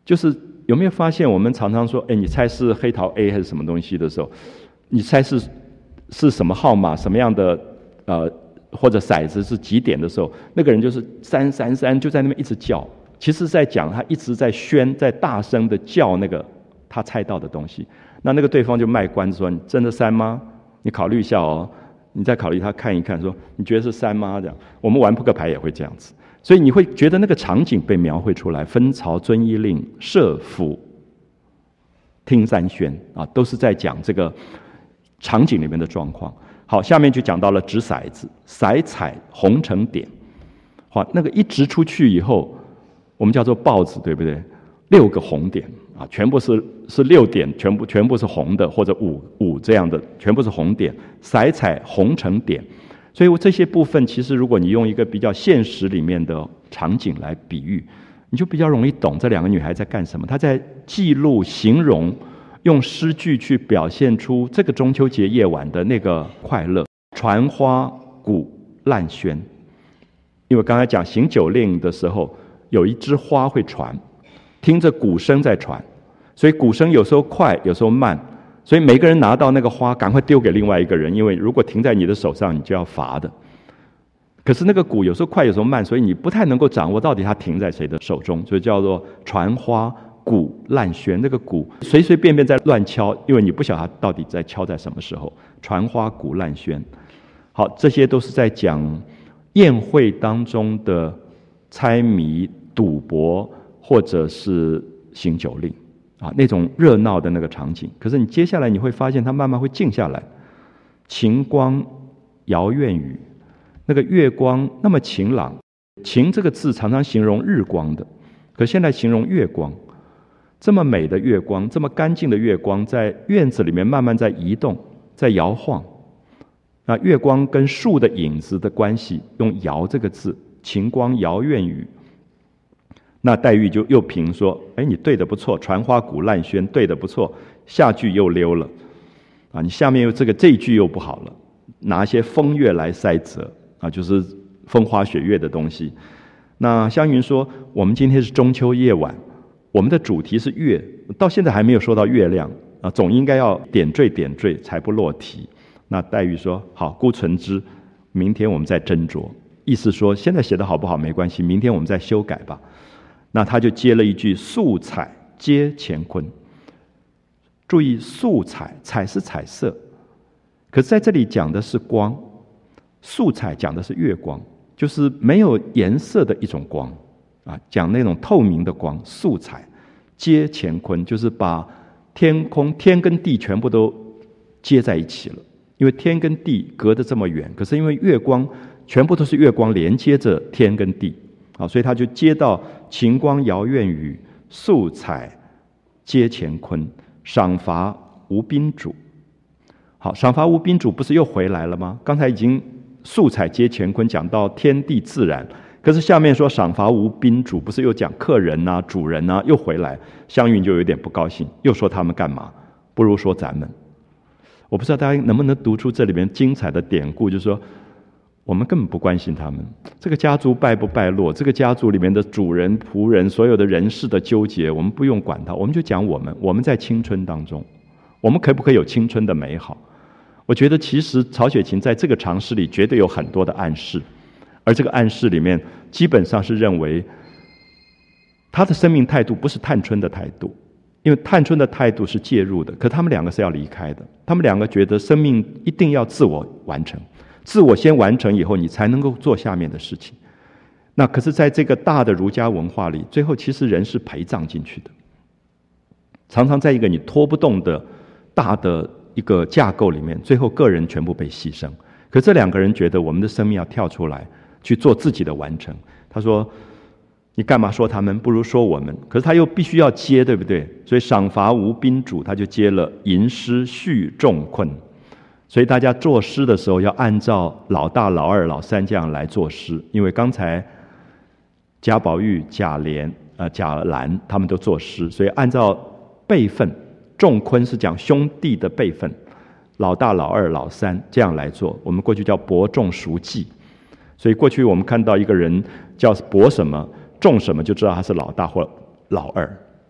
就是有没有发现，我们常常说，你猜是黑桃 A 还是什么东西的时候，你猜是什么号码，什么样的或者骰子是几点的时候，那个人就是333，就在那边一直叫。其实在讲他一直在宣，在大声的叫那个他猜到的东西。那个对方就卖关子说：“你真的3吗？你考虑一下哦。”你再考虑，他看一看，说：“你觉得是3吗？”这样，我们玩扑克牌也会这样子。所以你会觉得那个场景被描绘出来，分曹、遵义令、射府、听三宣啊，都是在讲这个场景里面的状况。好，下面就讲到了掷骰子，骰彩红成点。好，那个一掷出去以后，我们叫做豹子，对不对？6个红点啊，全部是6点，全部是红的，或者五这样的，全部是红点，骰彩红成点。所以这些部分，其实如果你用一个比较现实里面的场景来比喻，你就比较容易懂这2个女孩在干什么。她在记录、形容，用诗句去表现出这个中秋节夜晚的那个快乐。传花鼓烂喧，因为刚才讲行酒令的时候，有一枝花会传，听着鼓声在传，所以鼓声有时候快，有时候慢。所以每个人拿到那个花，赶快丢给另外一个人，因为如果停在你的手上，你就要罚的。可是那个鼓有时候快，有时候慢，所以你不太能够掌握到底它停在谁的手中，所以叫做传花鼓烂喧。那个鼓随随便便在乱敲，因为你不晓得它到底在敲在什么时候。传花鼓烂喧，好，这些都是在讲宴会当中的猜谜、赌博，或者是行酒令。那种热闹的那个场景，可是你接下来你会发现它慢慢会静下来。晴光摇院宇，那个月光那么晴朗，晴这个字常常形容日光的，可现在形容月光。这么美的月光，这么干净的月光，在院子里面慢慢在移动，在摇晃。那月光跟树的影子的关系，用摇这个字，晴光摇院宇。那黛玉就又评说：“你对得不错，传花鼓烂喧，对得不错。下句又溜了，你下面又这一句又不好了，拿些风月来塞责就是风花雪月的东西。”那湘云说：“我们今天是中秋夜晚，我们的主题是月，到现在还没有说到月亮总应该要点缀才不落题。”那黛玉说：“好，姑存之，明天我们再斟酌。”意思说现在写的好不好没关系，明天我们再修改吧。那他就接了一句：“素彩接乾坤。”注意，素彩，彩是彩色，可是在这里讲的是光，素彩讲的是月光，就是没有颜色的一种光讲那种透明的光。素彩接乾坤，就是把天空、天跟地全部都接在一起了。因为天跟地隔得这么远，可是因为月光全部都是月光连接着天跟地所以他就接到晴光摇院宇，素彩接乾坤，赏罚无宾主。好，赏罚无宾主不是又回来了吗？刚才已经素彩接乾坤讲到天地自然，可是下面说赏罚无宾主，不是又讲客人主人又回来。湘云就有点不高兴，又说他们干嘛？不如说咱们。我不知道大家能不能读出这里面精彩的典故，就是说我们根本不关心他们，这个家族败不败落，这个家族里面的主人仆人所有的人事的纠结，我们不用管它，我们就讲我们在青春当中，我们可不可以有青春的美好？我觉得其实曹雪芹在这个长诗里绝对有很多的暗示，而这个暗示里面基本上是认为他的生命态度不是探春的态度，因为探春的态度是介入的，可他们两个是要离开的，他们两个觉得生命一定要自我完成，自我先完成以后，你才能够做下面的事情。那可是在这个大的儒家文化里，最后其实人是陪葬进去的，常常在一个你拖不动的大的一个架构里面，最后个人全部被牺牲。可这两个人觉得我们的生命要跳出来去做自己的完成。他说你干嘛说他们，不如说我们。可是他又必须要接，对不对？所以赏罚无宾主，他就接了吟诗续仲昆。所以大家作诗的时候要按照老大、老二、老三这样来作诗，因为刚才贾宝玉、贾琏、贾兰他们都作诗，所以按照辈分，仲昆是讲兄弟的辈分，老大、老二、老三这样来做。我们过去叫伯仲叔季，所以过去我们看到一个人叫伯什么、仲什么，就知道他是老大或老二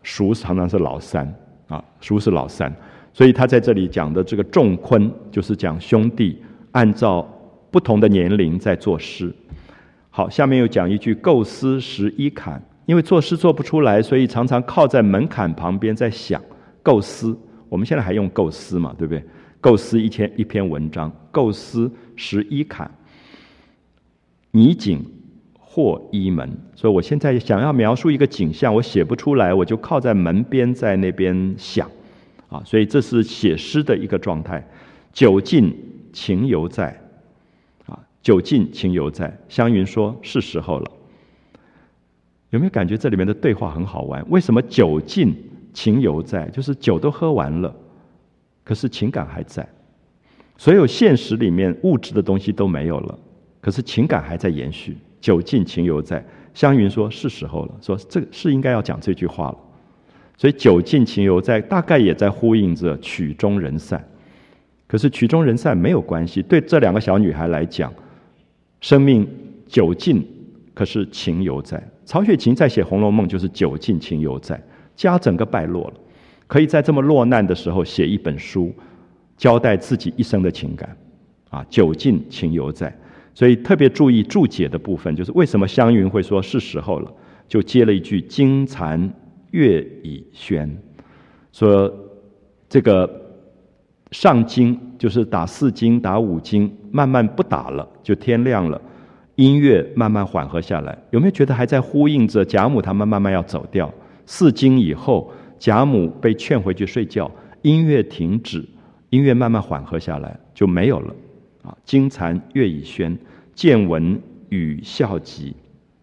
叔常常是老三啊，叔是老三，所以他在这里讲的这个仲坤，就是讲兄弟按照不同的年龄在作诗。好，下面又讲一句构思时依坎，因为作诗做不出来，所以常常靠在门槛旁边在想构思。我们现在还用构思嘛，对不对？构思一篇文章，构思时依坎，拟景或依门。所以我现在想要描述一个景象，我写不出来，我就靠在门边，在那边想啊。所以这是写诗的一个状态。酒尽情犹在啊，酒尽情犹在。湘云说是时候了。有没有感觉这里面的对话很好玩？为什么酒尽情犹在？就是酒都喝完了，可是情感还在。所有现实里面物质的东西都没有了，可是情感还在延续。酒尽情犹在。湘云说是时候了，说这个是应该要讲这句话了。所以酒尽情犹在大概也在呼应着曲终人散。可是曲终人散没有关系，对这两个小女孩来讲，生命酒尽，可是情犹在。曹雪芹在写《红楼梦》就是酒尽情犹在，家整个败落了，可以在这么落难的时候写一本书，交代自己一生的情感啊，酒尽情犹在。所以特别注意注解的部分，就是为什么湘云会说是时候了，就接了一句金残月已轩，说这个上京就是打4更打5更，慢慢不打了，就天亮了，音乐慢慢缓和下来。有没有觉得还在呼应着贾母他们慢慢要走掉？4更以后，贾母被劝回去睡觉，音乐停止，音乐慢慢缓和下来，就没有了啊。金残月已轩，渐闻雨笑急。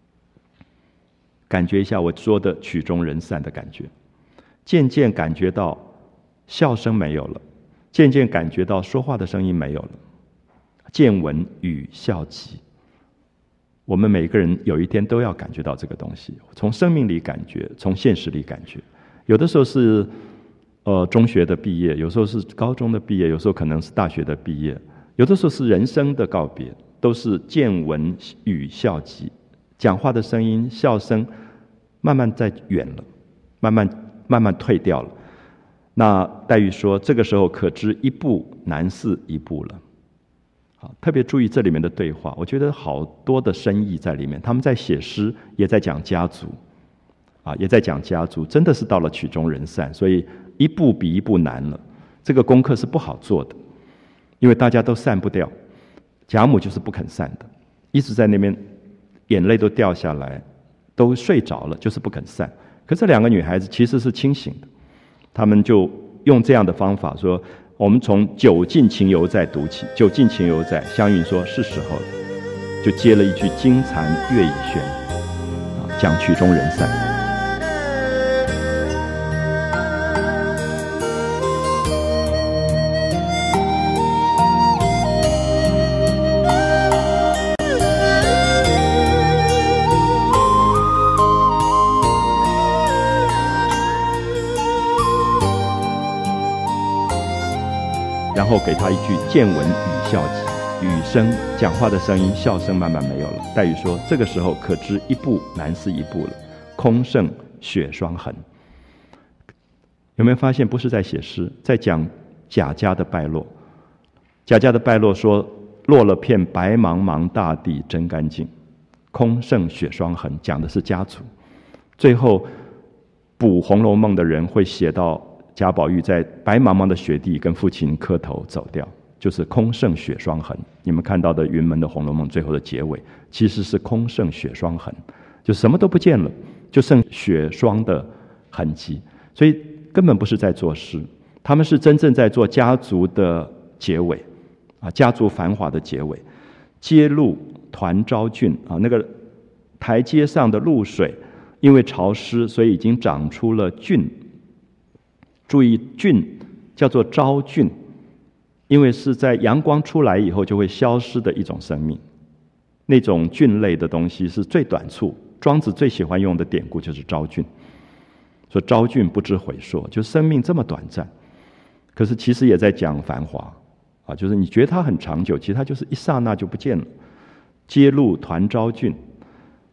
感觉一下我说的曲终人散的感觉，渐渐感觉到笑声没有了，渐渐感觉到说话的声音没有了。渐闻雨笑急。我们每个人有一天都要感觉到这个东西，从生命里感觉，从现实里感觉。有的时候是中学的毕业，有时候是高中的毕业，有时候可能是大学的毕业，有的时候是人生的告别，都是渐闻雨笑急。讲话的声音、笑声慢慢在远了，慢慢退掉了。那黛玉说，这个时候可知一步难似一步了。好，特别注意这里面的对话，我觉得好多的深意在里面。他们在写诗，也在讲家族，啊，也在讲家族，真的是到了曲终人散，所以一步比一步难了。这个功课是不好做的，因为大家都散不掉。贾母就是不肯散的，一直在那边，眼泪都掉下来，都睡着了，就是不肯散。可这两个女孩子其实是清醒的，她们就用这样的方法说。我们从酒尽情犹在读起，酒尽情犹在，湘云说是时候了，就接了一句金残月已轩，讲曲终人散。然后给他一句渐闻雨笑急，雨声讲话的声音、笑声慢慢没有了。黛玉说，这个时候可知一步难似一步了，空剩雪霜痕。有没有发现不是在写诗，在讲贾家的败落。贾家的败落说，落了片白茫茫大地真干净，空剩雪霜痕，讲的是家族。最后补《红楼梦》的人会写到贾宝玉在白茫茫的雪地跟父亲磕头走掉，就是空剩雪霜痕。你们看到的云门的《红楼梦》最后的结尾其实是空剩雪霜痕，就什么都不见了，就剩雪霜的痕迹。所以根本不是在作诗，他们是真正在做家族的结尾啊，家族繁华的结尾。街路团昭郡啊，那个台阶上的露水因为潮湿，所以已经长出了菌。注意，菌叫做昭菌，因为是在阳光出来以后就会消失的一种生命。那种菌类的东西是最短促，庄子最喜欢用的典故就是昭菌，说昭菌不知悔硕，就生命这么短暂。可是其实也在讲繁华啊，就是你觉得它很长久，其实它就是一刹那就不见了。街路团昭菌，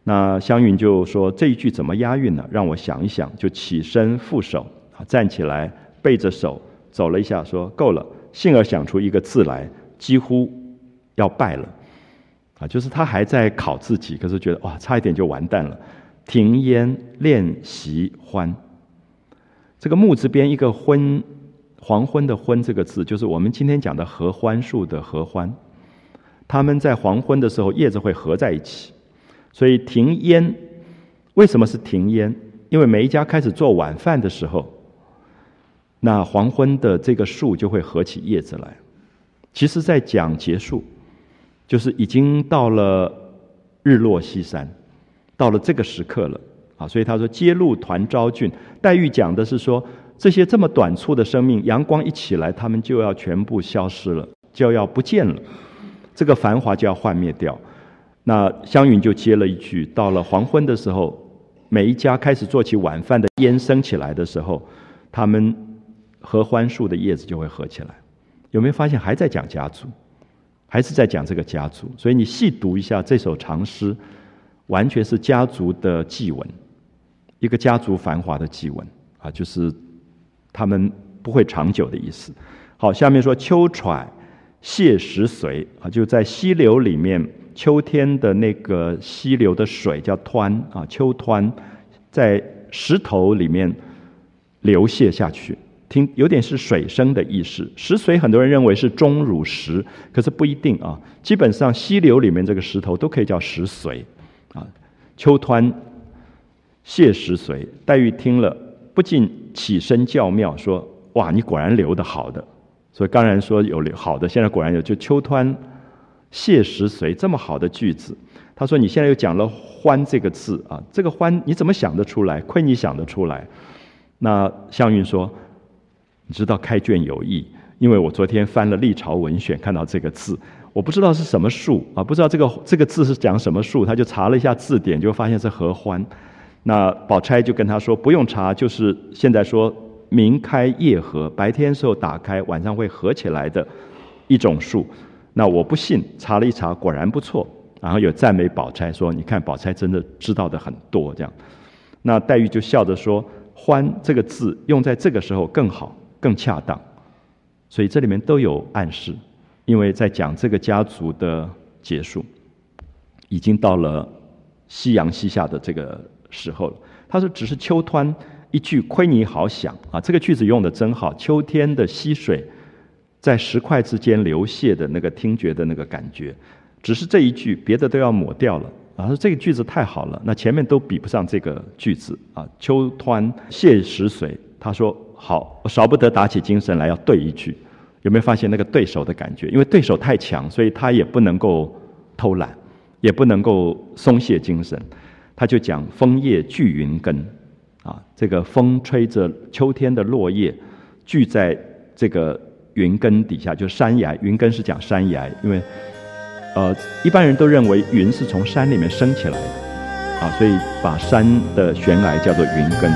那湘云就说这一句怎么押韵呢？让我想一想，就起身负手，站起来背着手走了一下，说够了，幸而想出一个字来，几乎要败了就是他还在考自己，可是觉得哇，差一点就完蛋了。停烟练习欢，这个木字边一个昏，黄昏的昏这个字，就是我们今天讲的合欢树的合欢。他们在黄昏的时候叶子会合在一起，所以停烟，为什么是停烟？因为每一家开始做晚饭的时候，那黄昏的这个树就会合起叶子来。其实在讲结束，就是已经到了日落西山，到了这个时刻了所以他说揭露团昭俊。黛玉讲的是说，这些这么短促的生命，阳光一起来，他们就要全部消失了，就要不见了，这个繁华就要幻灭掉。那湘云就接了一句，到了黄昏的时候，每一家开始做起晚饭的烟升起来的时候，他们合欢树的叶子就会合起来。有没有发现还在讲家族，还是在讲这个家族？所以你细读一下这首长诗，完全是家族的祭文，一个家族繁华的祭文就是他们不会长久的意思。好，下面说秋揣泻石髓就在溪流里面，秋天的那个溪流的水叫湍秋湍在石头里面流泻下去，有点是水声的意思。石髓很多人认为是钟乳石，可是不一定基本上溪流里面这个石头都可以叫石髓秋湍泻石髓。黛玉听了不禁起身叫妙，说哇，你果然留得好的。所以刚才说有好的，现在果然有，就秋湍泻石髓这么好的句子。他说你现在又讲了欢这个字这个欢你怎么想得出来？亏你想得出来。那湘云说，你知道开卷有益，因为我昨天翻了历朝文选，看到这个字，我不知道是什么树不知道这个字是讲什么树，他就查了一下字典，就发现是合欢。那宝钗就跟他说不用查，就是现在说明开夜合，白天时候打开，晚上会合起来的一种树。那我不信，查了一查，果然不错。然后有赞美宝钗说，你看宝钗真的知道的很多这样。那黛玉就笑着说，欢这个字用在这个时候更好更恰当。所以这里面都有暗示，因为在讲这个家族的结束，已经到了夕阳西下的这个时候了。他说只是秋湍一句亏你好想这个句子用的真好。秋天的溪水在石块之间流泻的那个听觉的那个感觉，只是这一句，别的都要抹掉了说这个句子太好了，那前面都比不上这个句子秋湍泻石髓。他说好，我少不得打起精神来要对一句。有没有发现那个对手的感觉？因为对手太强，所以他也不能够偷懒，也不能够松懈精神。他就讲枫叶聚云根这个风吹着秋天的落叶聚在这个云根底下，就是山崖。云根是讲山崖，因为一般人都认为云是从山里面升起来的所以把山的悬崖叫做云根。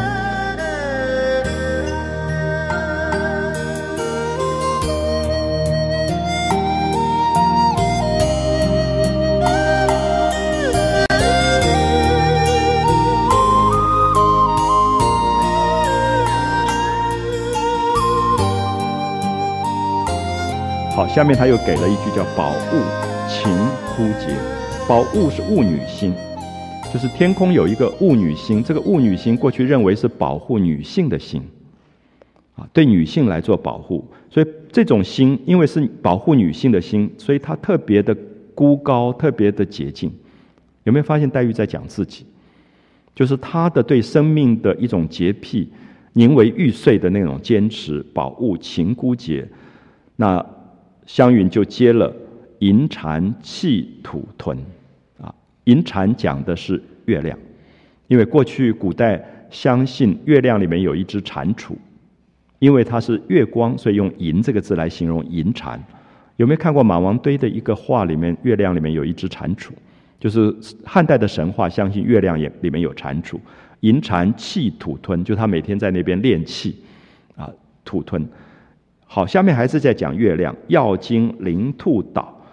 好，下面他又给了一句叫宝物晴枯节。宝物是物女星，就是天空有一个物女星，这个物女星过去认为是保护女性的星对女性来做保护，所以这种星因为是保护女性的星，所以它特别的孤高，特别的洁净。有没有发现黛玉在讲自己，就是她的对生命的一种洁癖，宁为玉碎的那种坚持。宝物晴枯节，那湘云就接了银蟾气土屯银蟾讲的是月亮，因为过去古代相信月亮里面有一只蟾蜍，因为它是月光，所以用银这个字来形容银蟾。有没有看过马王堆的一个画里面，月亮里面有一只蟾蜍？就是汉代的神话相信月亮也里面有蟾蜍。银蟾气土吞，就他每天在那边练气土吞。好，下面还是在讲月亮。药经灵兔岛，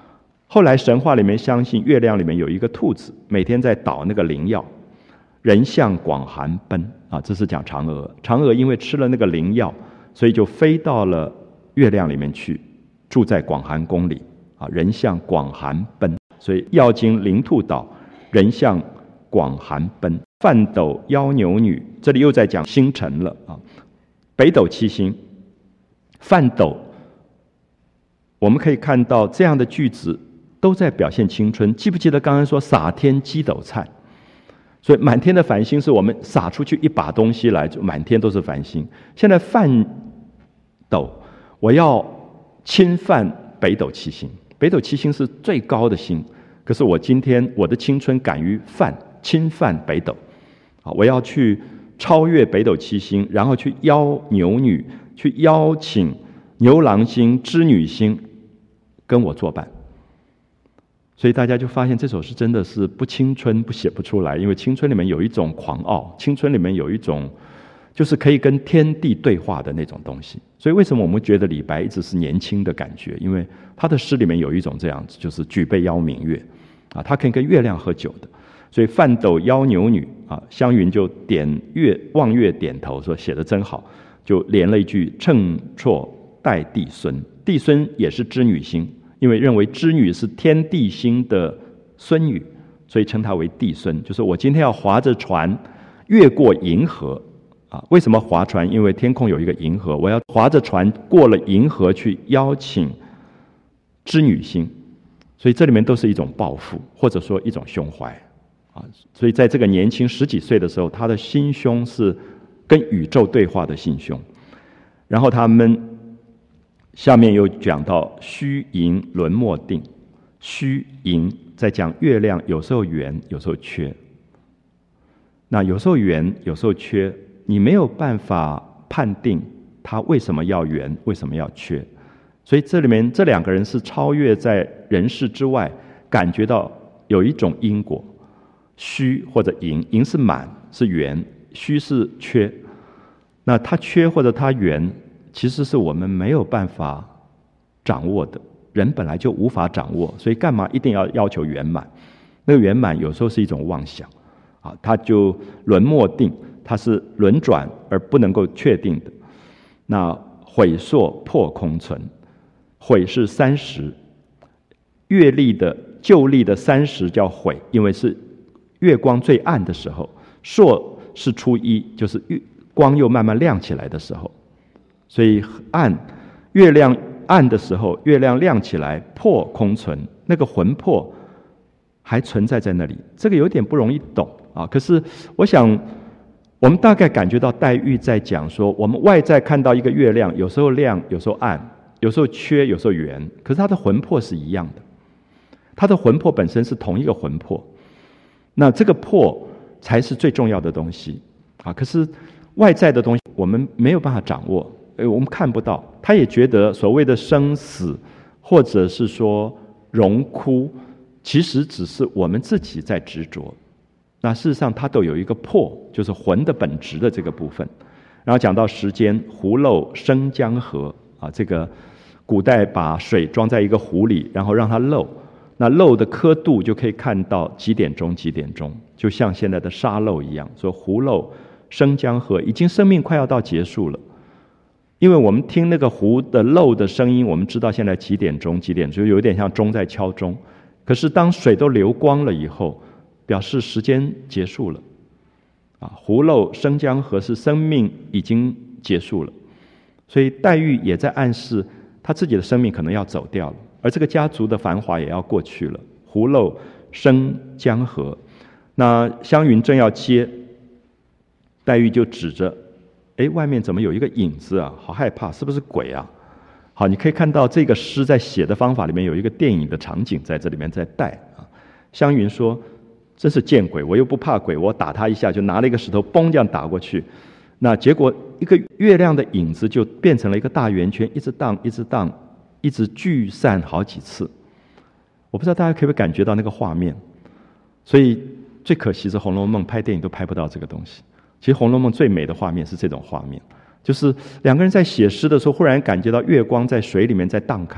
后来神话里面相信月亮里面有一个兔子，每天在捣那个灵药，人向广寒奔啊，这是讲嫦娥。嫦娥因为吃了那个灵药，所以就飞到了月亮里面去，住在广寒宫里啊。人向广寒奔，所以药经灵兔岛，人向广寒奔。范斗邀牛女，这里又在讲星辰了啊。北斗七星，范斗，我们可以看到这样的句子都在表现青春。记不记得刚刚说洒天鸡斗灿？所以满天的繁星是我们撒出去一把东西来，就满天都是繁星。现在范斗，我要侵犯北斗七星。北斗七星是最高的星，可是我今天我的青春敢于侵犯北斗啊！我要去超越北斗七星，然后去邀牛女，去邀请牛郎星、织女星跟我作伴。所以大家就发现这首诗真的是不青春不写不出来，因为青春里面有一种狂傲，青春里面有一种就是可以跟天地对话的那种东西。所以为什么我们觉得李白一直是年轻的感觉？因为他的诗里面有一种这样子，就是举杯邀明月啊，他可以跟月亮喝酒的。所以范斗邀牛女啊，湘云就望月点头说写得真好，就连了一句乘绰待帝孙。帝孙也是织女星，因为认为织女是天地星的孙女，所以称她为帝孙。就是我今天要划着船越过银河啊，为什么划船？因为天空有一个银河，我要划着船过了银河去邀请织女星，所以这里面都是一种抱负，或者说一种胸怀啊。所以在这个年轻10几岁的时候，他的心胸是跟宇宙对话的心胸。然后他们下面又讲到虚盈轮莫定，虚盈在讲月亮有时候圆，有时候缺。那有时候圆，有时候缺，你没有办法判定它为什么要圆，为什么要缺。所以这里面这两个人是超越在人世之外，感觉到有一种因果，虚或者盈，盈是满是圆，虚是缺。那它缺或者它圆，其实是我们没有办法掌握的，人本来就无法掌握，所以干嘛一定要求圆满？那个圆满有时候是一种妄想啊，它就轮莫定，它是轮转而不能够确定的。那毁烁破空存，毁是30，月历的旧历的30叫毁，因为是月光最暗的时候；朔是初一，就是光又慢慢亮起来的时候。所以暗，月亮暗的时候，月亮亮起来，魄空存，那个魂魄还存在在那里。这个有点不容易懂啊。可是我想，我们大概感觉到黛玉在讲说，我们外在看到一个月亮，有时候亮，有时候暗，有时候缺，有时候圆，可是它的魂魄是一样的。它的魂魄本身是同一个魂魄，那这个魄才是最重要的东西啊。可是外在的东西我们没有办法掌握，我们看不到。他也觉得所谓的生死，或者是说荣枯，其实只是我们自己在执着。那事实上它都有一个魄，就是魂的本质的这个部分。然后讲到时间，湖漏生江河啊，这个古代把水装在一个壶里，然后让它漏，那漏的刻度就可以看到几点钟几点钟，就像现在的沙漏一样。说湖漏生江河，已经生命快要到结束了。因为我们听那个湖的漏的声音，我们知道现在几点钟几点钟，有点像钟在敲钟。可是当水都流光了以后，表示时间结束了啊。湖漏生江河是生命已经结束了，所以黛玉也在暗示她自己的生命可能要走掉了，而这个家族的繁华也要过去了。湖漏生江河，那湘云正要接，黛玉就指着，外面怎么有一个影子啊？好害怕，是不是鬼啊？好，你可以看到这个诗在写的方法里面有一个电影的场景在这里面在带啊。湘云说：“真是见鬼！我又不怕鬼，我打他一下，就拿了一个石头，嘣这样打过去。那结果一个月亮的影子就变成了一个大圆圈，一直荡，一直荡，一直聚散好几次。我不知道大家可不可以感觉到那个画面。所以最可惜是《红楼梦》拍电影都拍不到这个东西。其实《红楼梦》最美的画面是这种画面，就是两个人在写诗的时候，忽然感觉到月光在水里面在荡开，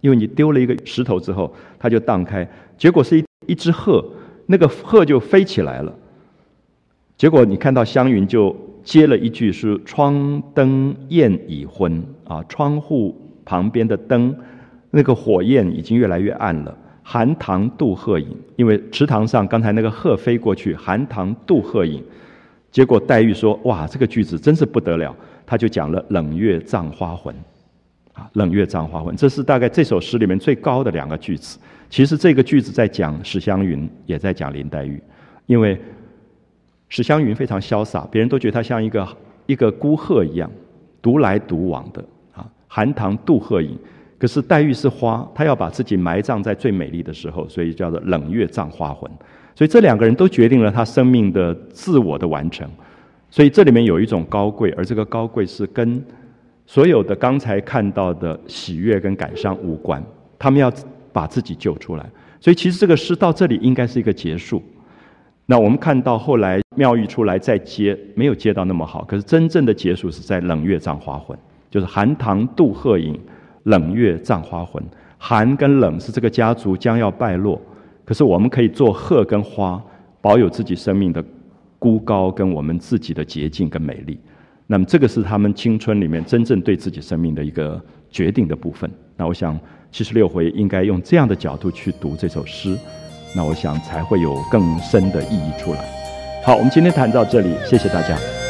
因为你丢了一个石头之后，它就荡开，结果是一只鹤，那个鹤就飞起来了。结果你看到湘云就接了一句是“窗灯焰已昏”啊，窗户旁边的灯，那个火焰已经越来越暗了。寒塘渡鹤影，因为池塘上刚才那个鹤飞过去，寒塘渡鹤影。结果黛玉说：“哇，这个句子真是不得了。”他就讲了“冷月葬花魂”，啊，“冷月葬花魂”，这是大概这首诗里面最高的2个句子。其实这个句子在讲史湘云，也在讲林黛玉，因为史湘云非常潇洒，别人都觉得她像一个孤鹤一样，独来独往的啊。寒塘渡鹤影，可是黛玉是花，她要把自己埋葬在最美丽的时候，所以叫做冷月葬花魂。所以这2个人都决定了她生命的自我的完成。所以这里面有一种高贵，而这个高贵是跟所有的刚才看到的喜悦跟感伤无关，他们要把自己救出来。所以其实这个诗到这里应该是一个结束。那我们看到后来妙玉出来再接，没有接到那么好，可是真正的结束是在冷月葬花魂，就是寒塘渡鹤影，冷月葬花魂。寒跟冷是这个家族将要败落，可是我们可以做鹤跟花，保有自己生命的孤高跟我们自己的洁净跟美丽。那么这个是他们青春里面真正对自己生命的一个决定的部分。那我想76回应该用这样的角度去读这首诗，那我想才会有更深的意义出来。好，我们今天谈到这里，谢谢大家。